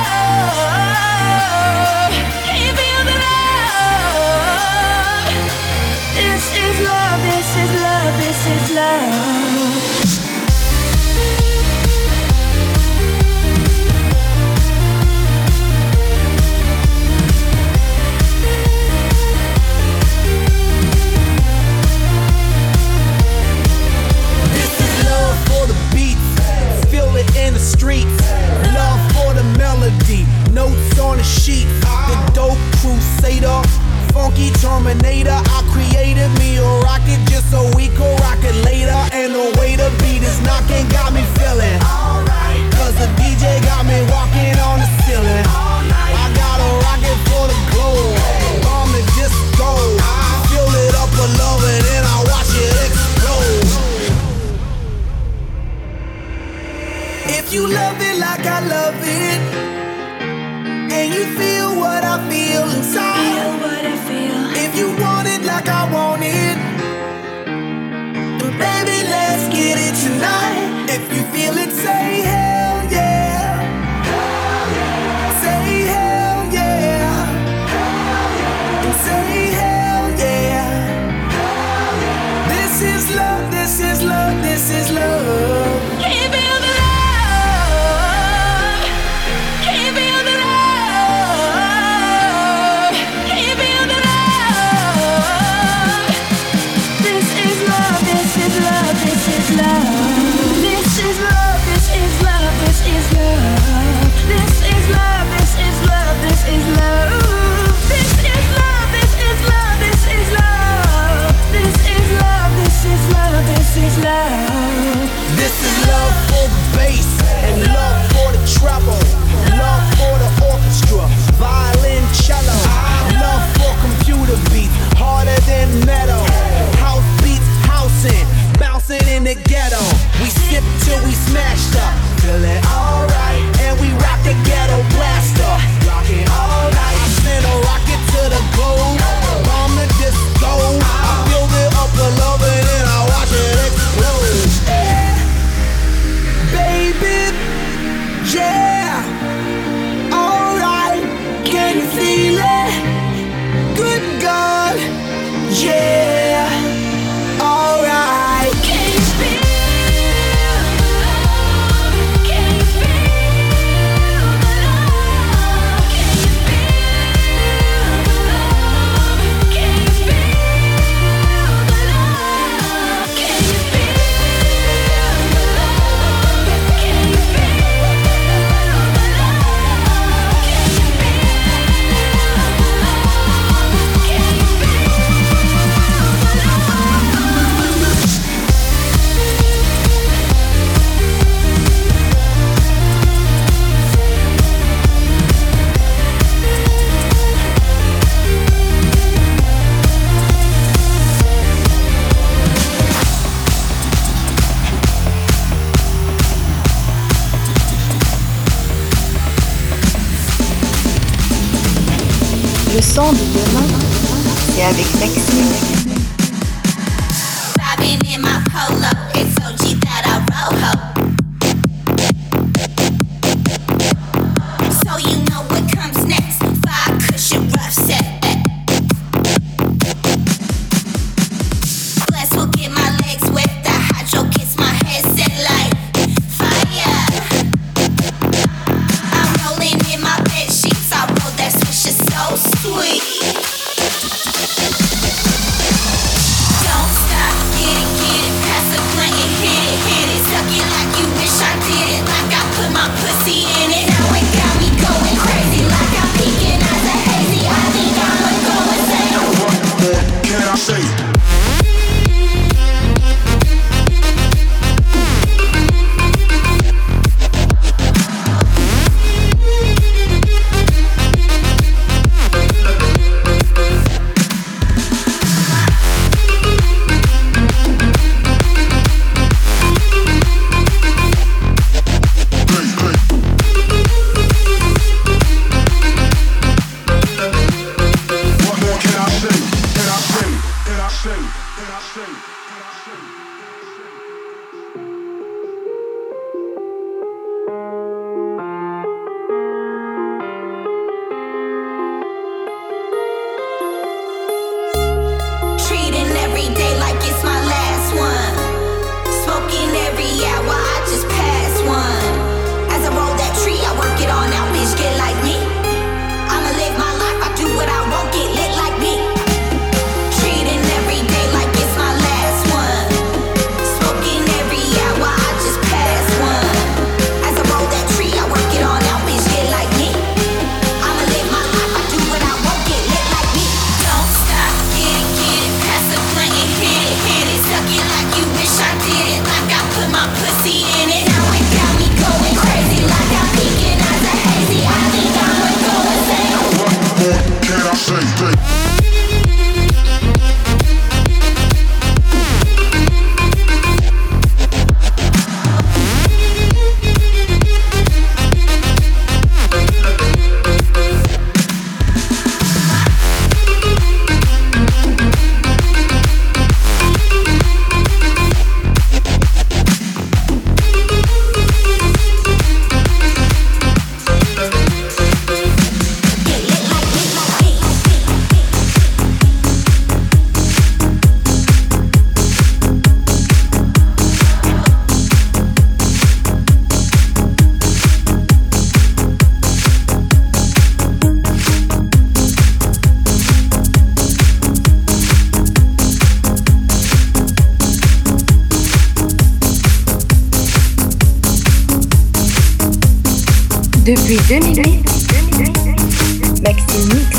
love? Can you feel the love? This is love, this is love, this is love.
In the streets, love for the melody, notes on the sheet. The dope crusader, funky terminator. I created me a rocket just so we could rock it later. And the way the beat is knocking got me feeling alright. Cause the D J got me walking on the ceiling. I got a rocket for the globe, on the disco. Fill it up with love and then I watch it explode. If you love it like I love it, and you feel what I feel inside,
feel what I feel.
If you want it like I want it, then baby, let's get it tonight. If you feel it, say hell yeah. Say hell yeah. And say hell yeah. This is love, this is love, this is love.
Can you feel the love? Can you feel the love? Can you feel the love? This is love, this is love, this is love. This is love, this is love, this is love. This is love, this is love, this is love. This is love, this is love, this is love. This is love, this is love, this is love.
This is love for the bass and love for the treble, love for the orchestra, violin, cello, love for computer beats, harder than metal, house beats, housing, bouncing in the ghetto. We sip till we smashed up, feeling alright, and we rock the ghetto blaster, rocking all night. I send a rocket to the globe, bomb the disco. I build it up with love and then I watch it explode. Yeah. Baby, yeah, alright, can you feel it? Good God, yeah, alright.
Can you feel the love? Can you feel the love? Can you feel the love? Can you feel the love? Can you feel the love? Can you feel the love? Can you feel the love? Can you feel the love?
Le son de demain, c'est avec Maxime.
Vibing in my polo, it's O G that I roll ho. So you know what comes next, five cushion rough set. Bless will get my legs wet, the hydro gets my head set like fire. I'm rolling in my bed sheets, I roll that swish is so sweet. Don't stop, get it, get it.
Depuis deux mille huit, Maxime Mix.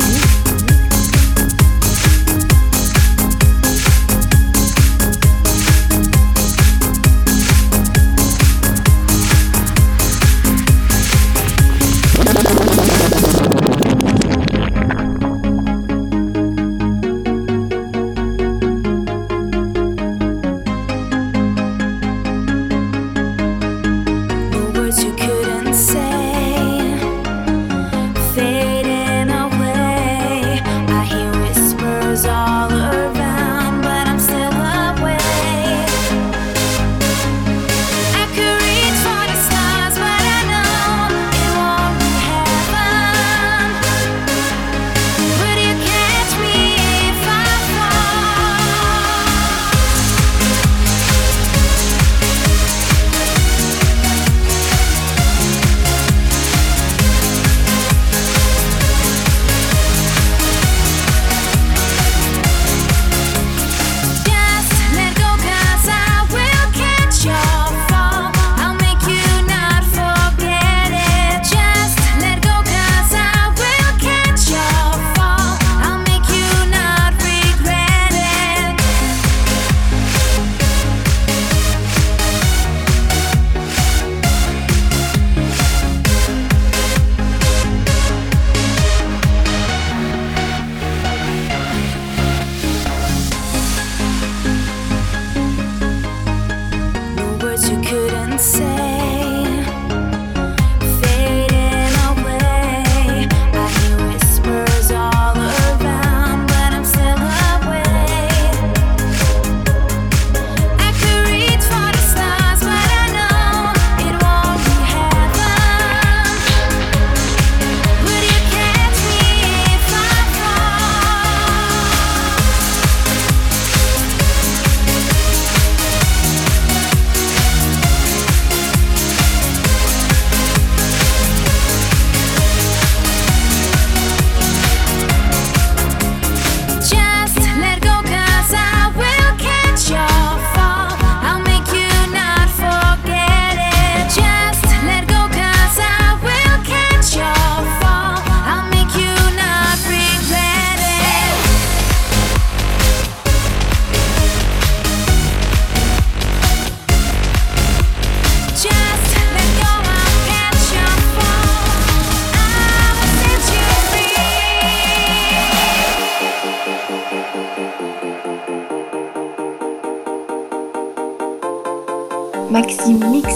Maxime Mix.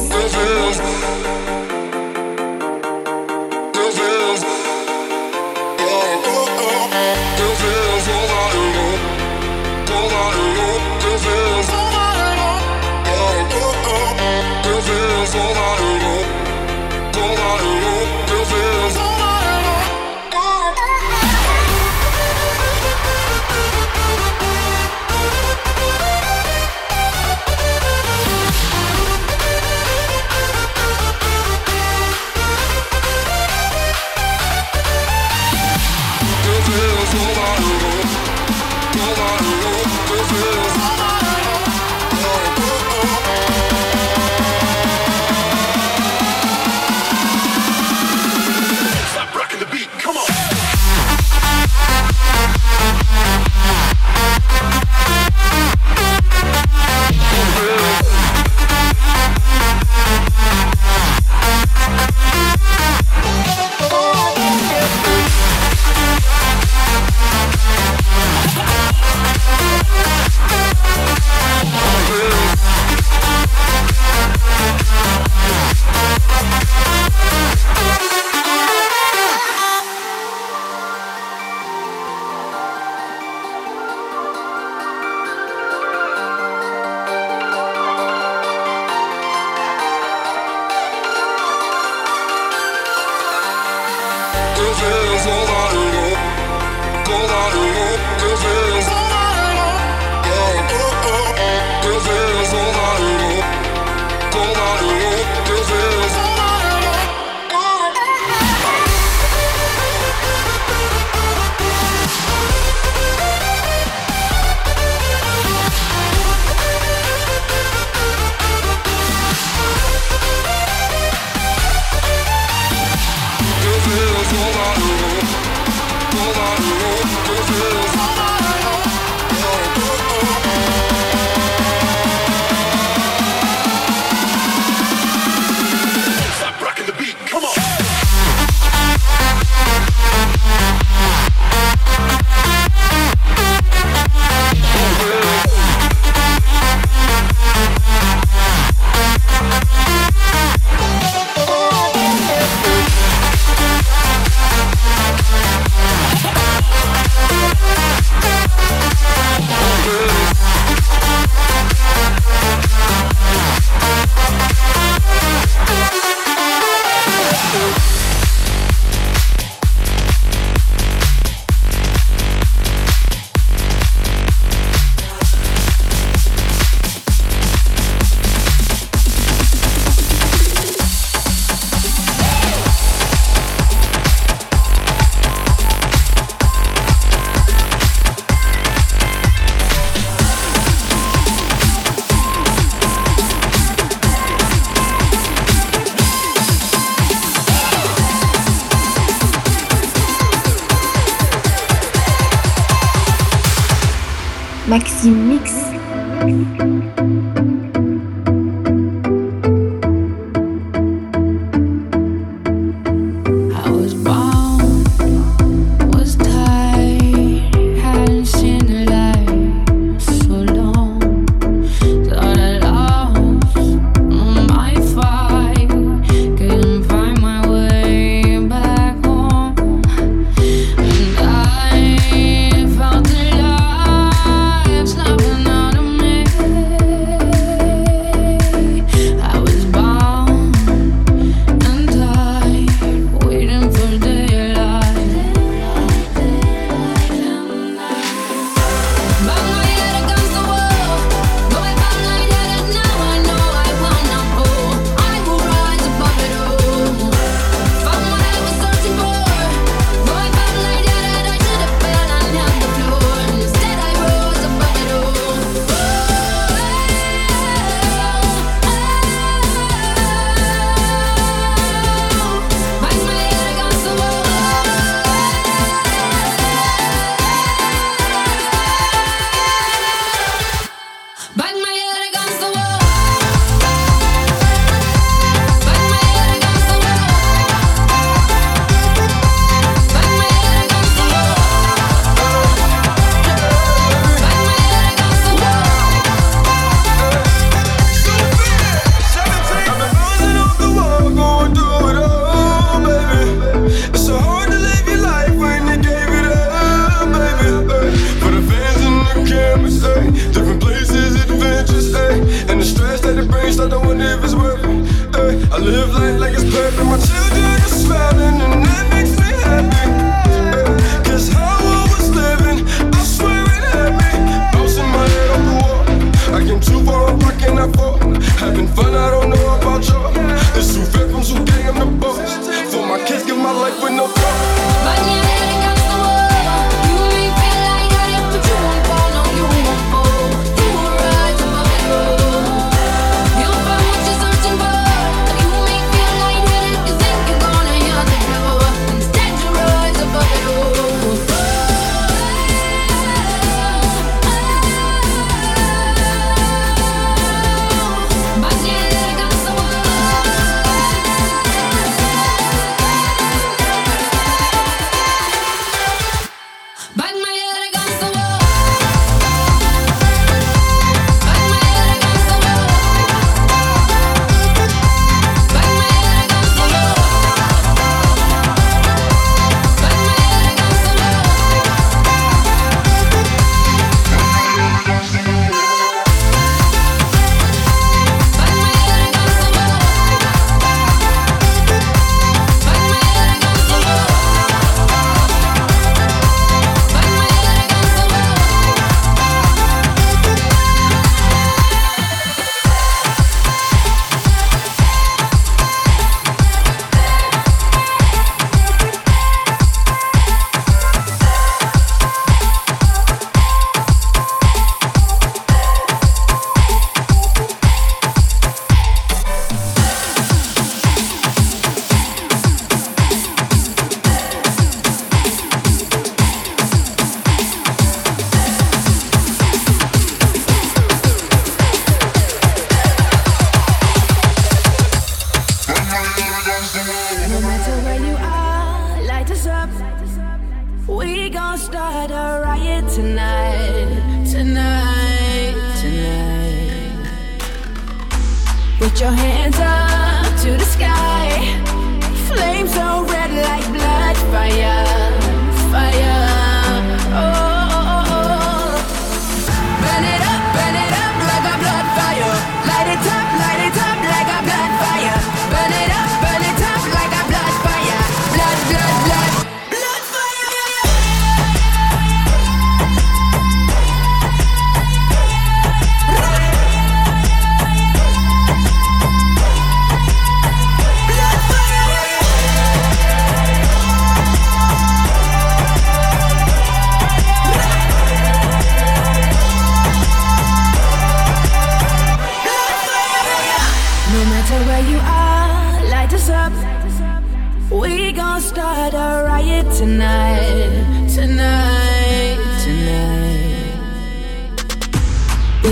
Maxime Mix.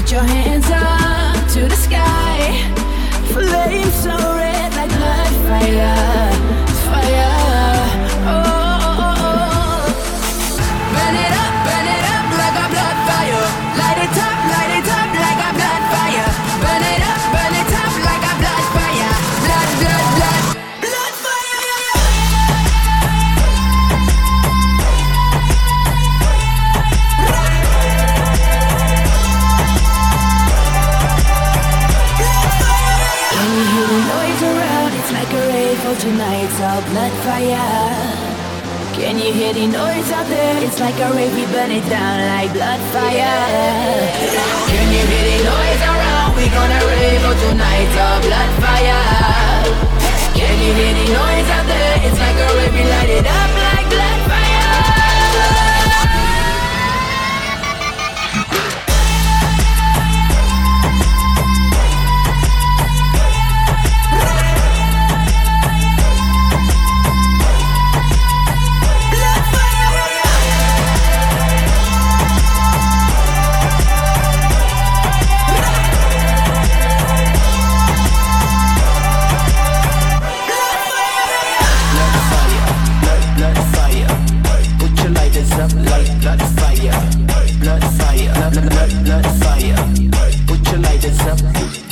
Put your hands up to the sky. Flames so red like blood fire. Fire. Oh, oh, oh, oh. Burn it up, burn it up like a blood fire. Light it up, light it up like a blood fire. Burn it up, burn it up like a blood fire. Blood, blood, blood. Blood fire, yeah, yeah. Can you hear the noise around? It's like a rave for tonight's all blood fire. Can you hear the noise out there? It's like a rave, we burn it down like blood fire. Can you hear the noise around? We gonna rave for tonight's all blood fire. Can you hear the noise out there? It's like a rave, we light it up like blood fire. Up like blood fire, blood fire, blood, blood, blood fire. Put your lighters up